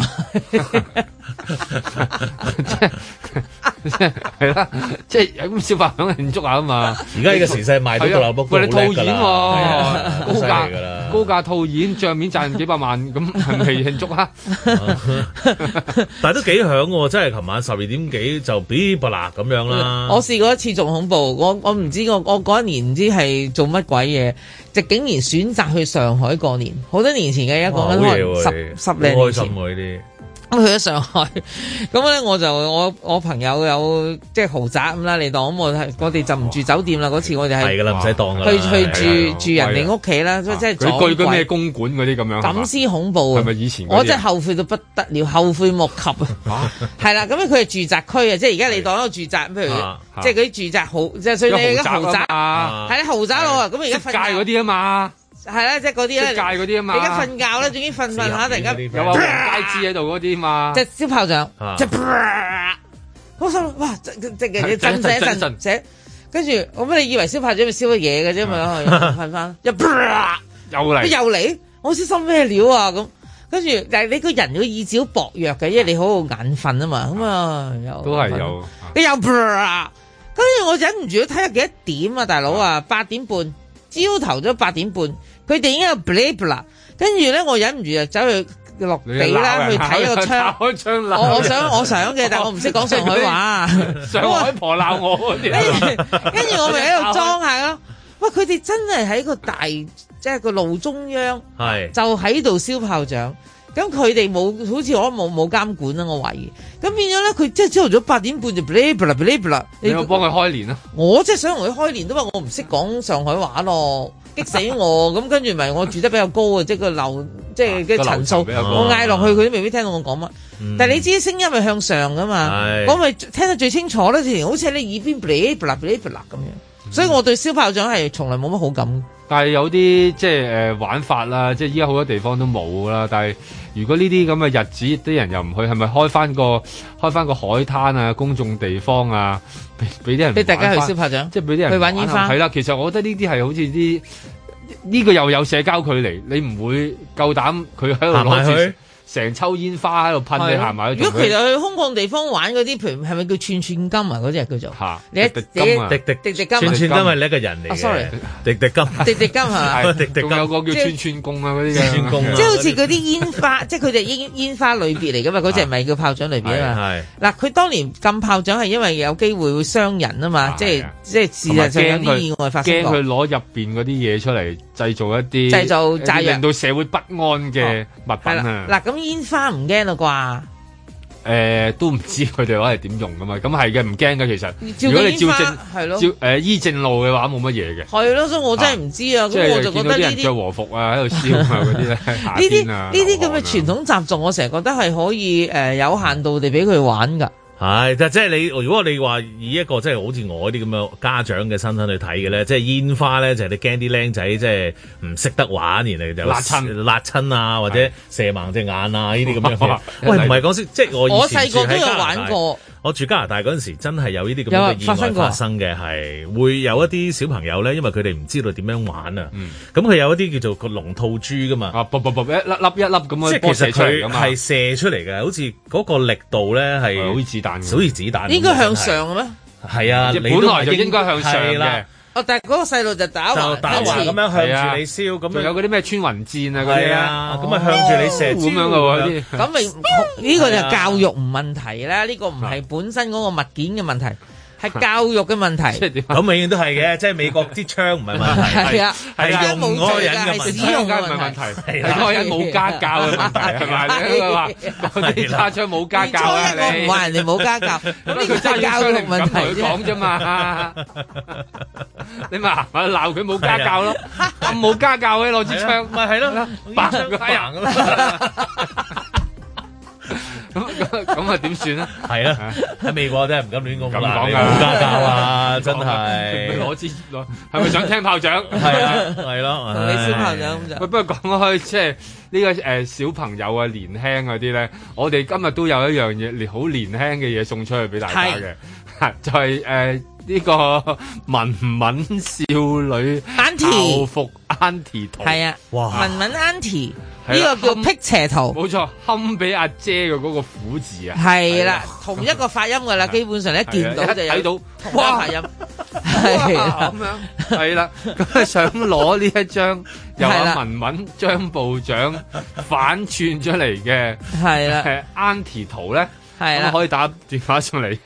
係啦，即係咁燒炮仗慶祝下啊嘛！而家呢個時勢賣到獨立屋，喂，你套現喎，高價套現，帳面賺幾百萬，咁係咪慶祝啊？但係都幾響喎！真係琴晚12點幾就嗶啵啦咁樣啦。我試過一次仲恐怖，我唔知我嗰一年唔知係做乜鬼嘢，就竟然選擇去上海過年。好多年前嘅，一講緊可能十零年前。咁去咗上海，咁咧我朋友有即係豪宅咁啦，你當咁我哋就唔住酒店啦。嗰次我哋係唔使當去住人哋屋企啦，即係佢居咩公館嗰啲咁樣，咁先恐怖。係咪以前？我真係後悔到不得了，後悔莫及啊！係啦，咁佢係住宅區啊，即係而家你當一個住宅，譬如即係嗰啲住宅豪，即係所以你而家豪宅啊，係啦豪宅咯。咁而家瞓街嗰啲啊嘛。係啦，即係嗰啲咧，界嗰啲啊嘛。你而家瞓覺咧，總之瞓下，突然間有個街枝喺度嗰啲嘛。即係燒炮仗，即係好心哇！即係你震醒，跟住我乜你以為燒炮仗咪燒咗嘢嘅啫嘛？瞓翻又嚟，我先心咩料啊咁。跟住但係你個人個意志好薄弱嘅，因為你好眼瞓啊嘛。咁啊又都係有，你又跟住我忍唔住睇下幾多點啊，大佬啊，8點半。朝頭咗8點半，佢哋已經有 blip 啦，跟住咧我忍唔住就走去落地啦，去睇個窗。我想嘅，但係我唔識講上海話。上海婆鬧我嗰啲。跟住我咪喺度裝下咯。喂，佢哋真係喺個大即係個路中央，就喺度燒炮仗。咁佢哋冇，好似我冇監管啦，我懷疑。咁變咗咧，佢即係朝頭早8點半就 blip 啦。你有幫佢開年啊？我即係想同佢開年，都話我唔識講上海話咯，激死我。咁跟住咪我住得比較高啊，即係個樓，即係嘅層數，我嗌落去佢都未必聽到我講乜。但係你知聲音係向上噶嘛？我咪聽得最清楚啦，好似喺你耳邊 blip 咁樣。所以我對燒炮仗係從來冇乜好感。但係有啲即係玩法啦，即係依家好多地方都冇啦。但係如果呢啲咁嘅日子，啲人又唔去，係咪開翻個海灘啊、公眾地方啊，俾啲人俾大家去燒炮仗，即係俾啲人去玩煙花。係啦，其實我覺得呢啲係好似啲呢個又有社交距離，你唔會夠膽佢喺度攞住成抽煙花喺度噴你行埋去。如果其實去空曠地方玩嗰啲，譬如係咪叫串金啊？嗰啲係叫做嚇，你滴滴金，串金係你一個人嚟嘅。sorry，滴滴金係嘛？仲有個叫串公啊嗰啲嘅串公，即係好似嗰啲煙花，即係佢哋煙花類別嚟㗎嘛？嗰隻唔係叫炮仗類別啊嘛。嗱，佢當年禁炮仗係因為有機會會傷人啊嘛，即係事實上有啲意外發生過。驚佢攞入邊嗰啲嘢出嚟製造炸藥，令到社會不安嘅物品啊！嗱咁。煙花唔驚啦啩？ 都唔知佢哋攞嚟點用噶嘛，咁係嘅，唔驚嘅其實。如果你照正醫正路嘅話，冇乜嘢嘅。係咯，所以我真係唔知啊。咁我就覺得呢啲着和服啊，喺度燒啊嗰啲咧，夏天啊， 呢啲咁嘅傳統習俗，我成日覺得係可以有限度地俾佢玩㗎。 係，即係你如果你話以一個即係好似我啲咁嘅家長嘅身份去睇嘅咧，即係煙花咧，就係你驚啲僆仔即係唔識得玩，然後就辣親啊，或者射盲隻眼啊呢啲咁樣嘅。喂，唔係講笑，即係我細個都有玩過。我住加拿大嗰陣時，真係有呢啲咁嘅意外發生嘅，係會有一啲小朋友咧，因為佢哋唔知道點樣玩啊。咁佢有一啲叫做個龍吐珠噶嘛， 一粒咁樣， 即係其實佢係射出嚟嘅，好似嗰個力度咧係好似子彈，好似子彈。 應該向上嘅咩？ 係啊，你本來就應該向上嘅。 但係嗰個細路就打橫咁樣向住你燒，咁仲有嗰啲咩穿雲箭啊嗰啲啊， 咁啊向住你射咁樣嘅喎。 咁咪呢個就教育唔問題啦，呢個唔係本身嗰個物件嘅問題，係教育嘅問題。 咁永遠都係嘅，即係美國啲槍唔係問題， 係啊， 係用嗰個人嘅使用嘅問題，係嗰個人冇家教嘅問題係咪？你話嗰啲揸槍冇家教啊？ 你唔話人哋冇家教，咁呢個真係教育問題啫。 講啫嘛，你咪鬧佢冇家教咯，咁冇家教嘅攞支槍， 咪係咯， 扮個人咁啊點算咧？ 係啊，喺美國真係唔敢亂講咁講冇家教啊，真係係咪想聽炮仗？ 係啊，係咯， 同你燒炮仗咁就。 不過講開即係呢個小朋友啊，年輕嗰啲咧，我哋今日都有一樣嘢，好年輕嘅嘢送出去俾大家嘅，就係呢個文文少女校服 Auntie 圖。 係啊，哇！文文 Auntie。呢個叫辟邪圖， 冇錯，堪比阿姐嘅嗰個苦字啊， 係啦，同一個發音噶啦，基本上一見到就睇到同一個發音，係咁樣，係啦，咁想攞呢一張由阿文文張部長反串出嚟嘅係啦 Auntie 圖咧，係啦，可以打電話上嚟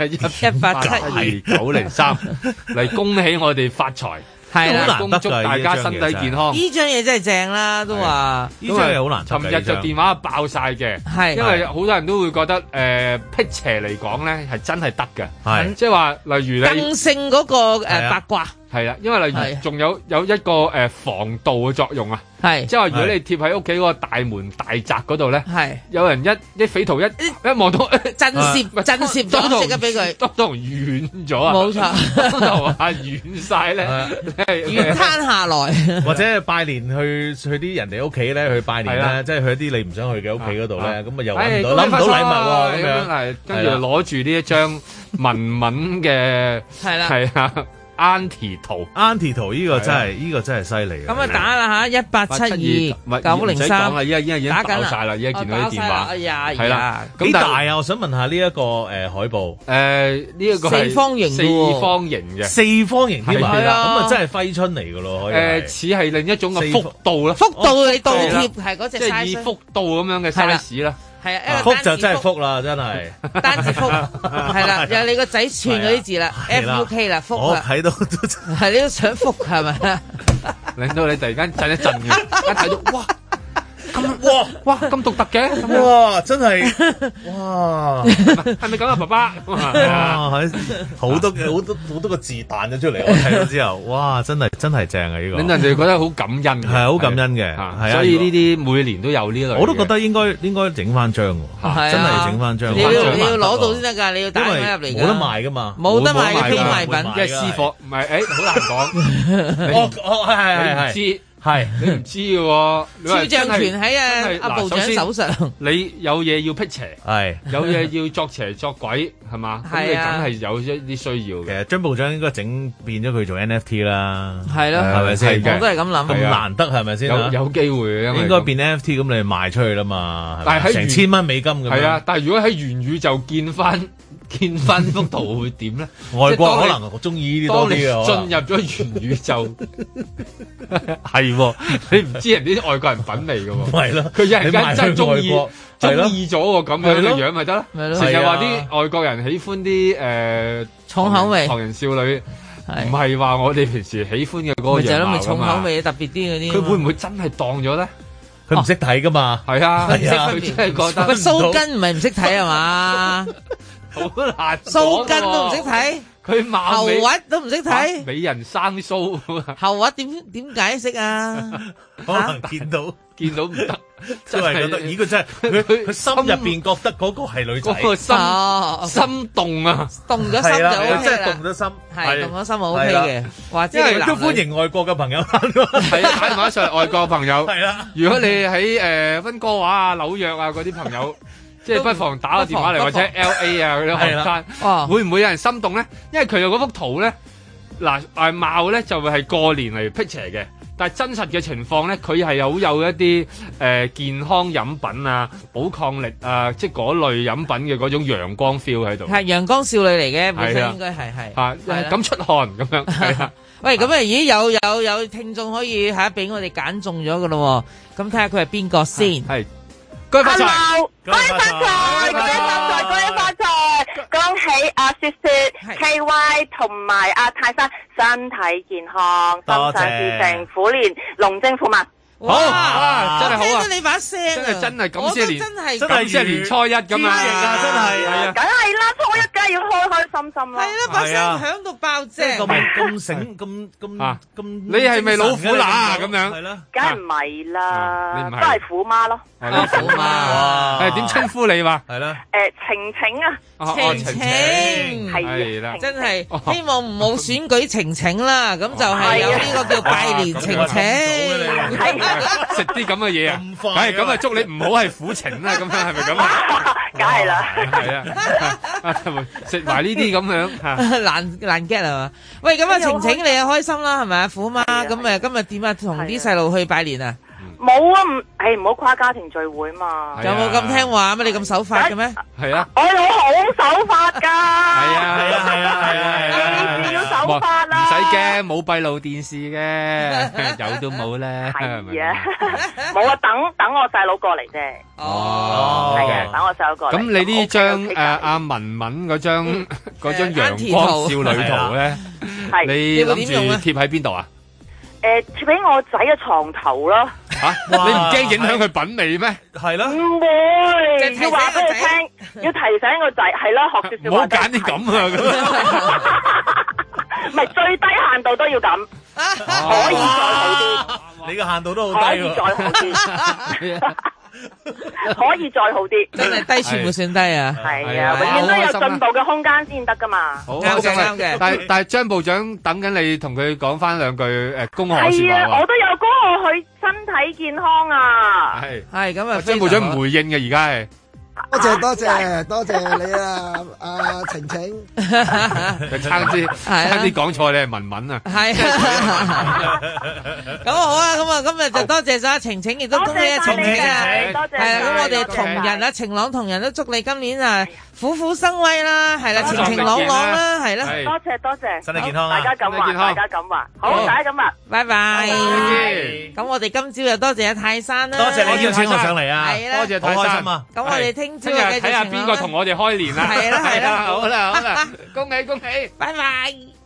1872903嚟恭喜我哋發財。係啦，恭祝大家身體健康。呢張嘢真係正啦，都話呢張嘢好難。 尋日就電話爆晒嘅，係因為好多人都會覺得辟邪嚟講咧係真係得嘅，係即係話例如你更勝嗰個八卦。 係啦，因為例如仲有一個防盜嘅作用啊，係即係話如果你貼喺屋企嗰個大門大閘嗰度咧，係有人一匪徒一望到震懾咗，即刻俾佢當堂軟咗啊！ 冇錯， 當堂啊軟晒咧， 軟攤下來， 或者拜年去啲人哋屋企咧去拜年咧，即係去一啲你唔想去嘅屋企嗰度咧，咁啊又諗唔到禮物喎，咁樣係跟住攞住呢一張文文嘅係啦， 係啊。Auntie 圖呢個真係犀利。 咁啊打啦嚇，1872-903， 打緊晒啦，依家見到啲電話，係啦。 幾大啊？我想問下呢一個海報， 呢一個四方形嘅， 四方形添啊！咁啊真係揮春嚟㗎咯， 似係另一種嘅幅度啦， 幅度你倒貼係嗰隻 size， 即係以幅度咁樣嘅 size 啦。 係啊， 福就真係福啦，真係單字福係啦，又你個仔串嗰啲字啦，FUK 啦，福啦， 我睇到係你都想福係咪？ 令到你突然間震一震嘅，一睇到哇！哇咁獨特嘅， 哇真係哇係咪咁啊爸爸？ 哇好多個字彈咗出嚟，我睇到之後，哇真係正啊呢個， 令人哋覺得好感恩， 係好感恩嘅，係啊， 所以呢啲每年都有呢類， 我都覺得應該整翻張喎，真係整翻張， 你要攞到先得㗎，你要帶翻入嚟㗎， 冇得賣㗎嘛， 冇得賣嘅非賣品， 即係私貨，唔係好難講，係知。係你唔知嘅喎， 肖像權喺阿部長手上。 你有嘢要辟邪， 係有嘢要作邪作鬼，係嘛？咁你梗係有一啲需要嘅。 其實張部長應該整變咗佢做 NFT 啦， 係咯， 係咪先？ 我都係咁諗， 咁難得係咪先？ 有機會應該變 NFT 咁你賣出去啦嘛， 但係喺成千蚊美金咁。 係啊，但係如果喺元宇宙見翻幅圖會點咧？ 外國可能我中意呢啲多啲啊！ 進入咗元宇宙，係你唔知人啲外國人品味㗎喎， 係咯？ 佢一陣間真係中意咗個咁樣嘅樣咪得咯？成日話啲外國人喜歡啲重口味唐人少女，唔係話我哋平時喜歡嘅嗰個樣貌㗎嘛？ 咪重口味特別啲嗰啲， 佢會唔會真係當咗咧？ 佢唔識睇噶嘛。 係啊， 佢真係覺得。蘇根唔係唔識睇係嘛？ 好難。 蘇根都唔識睇。 佢後核都唔識睇， 美人生鬚， 後核點解釋啊？ 可能見到唔得，真係覺得咦，佢真係佢心入邊覺得嗰個係女仔， 嗰個心動啊， 動咗心就 OK 啦， 真係動咗心， 係動咗心就 OK 嘅，或者係都歡迎外國嘅朋友， 係啊，打電話上嚟外國嘅朋友， 係啦， 如果你喺溫哥華啊、紐約啊嗰啲朋友。即係不妨打個電話嚟，或者 LA 啊嗰啲學生，會唔會有人心動咧？因為佢有嗰幅圖咧，嗱貌咧就會係過年嚟 picture 嘅，但係真實嘅情況咧，佢係好有一啲健康飲品啊、寶礦力啊，即係嗰類飲品嘅嗰種陽光 feel 喺度。係陽光少女嚟嘅，本身應該係咁出汗咁樣。係啊，喂，咁咦有聽眾可以俾我哋揀中咗噶咯？咁睇下佢係邊個先？係。恭喜發財！ 恭喜發財！恭喜發財！恭喜發財！恭喜阿雪雪、KY 同埋阿泰山身體健康，心想事成，虎年龍精虎猛。 好啊，真係好啊！ 聽到你把聲， 真係咁先年， 真係年初一咁啊！ 真係， 梗係啦，初一梗係要開開心心啦。 係啦，把聲響到爆正， 咁醒咁， 你係咪老虎乸咁樣？ 係啦， 梗係唔係啦，都係虎媽咯。 係啦，虎媽，點稱呼你話？係啦， 晴晴啊， 晴晴係啦， 真係希望唔好選舉晴晴啦，咁就係有呢個叫拜年晴晴。 食啲咁嘅嘢啊，係咁啊！祝你唔好係苦情啦，咁樣係咪咁啊？ 梗係啦， 係啊，食埋呢啲咁樣難 get 係嘛？喂，咁啊，晴晴你又開心啦，係咪啊？虎媽咁今日點啊？同啲細路去拜年啊？ 冇啊，唔好跨家庭聚會嘛。 有冇咁聽話咩？你咁守法嘅咩？ 係啊， 我老好守法㗎。 係啊， 要守法啦。 唔使驚，冇閉路電視嘅，有都冇咧。 係啊，冇啊，等我細佬過嚟啫。 哦， 係啊，等我細佬過嚟。咁你呢張阿文文嗰張陽光少女圖咧，你諗住貼喺邊度啊？ 貼喺我仔嘅床頭咯。 吓，你唔驚影響佢品味咩？係咯， 唔會，要話俾佢聽，要提醒個仔，係咯，學少少。唔好揀啲咁啊！唔係最低限度都要咁，可以再好啲。 你個限度都好低，可以再好啲。 可以再好啲， 真係低全部算低啊！ 係啊，永遠都有進步嘅空間先得噶嘛。 好啱嘅，但係張部長等緊你同佢講翻兩句恭賀說話。 係啊，我都有恭賀佢身體健康啊。 係咁啊， 張部長唔回應嘅而家係。 多謝你啊，阿晴晴。 差啲講錯，你係文文啊。 係。咁好啊，咁啊，今日就多謝晒晴晴，亦都恭喜阿晴晴啊。 多謝。 係啦，咁我哋同仁啊，晴朗同仁都祝你今年啊虎虎生威啦，係啦，晴晴朗朗啦，係啦。 多謝。 身體健康啊！ 大家咁話，好，大家咁話， 拜拜。咁我哋今朝又多謝阿泰山啦。 多謝你邀請我上嚟啊！ 係啦， 多謝泰山啊！ 咁我哋聽朝睇下邊個同我哋開年啦！ 係啦， 好啦，恭喜， 拜拜。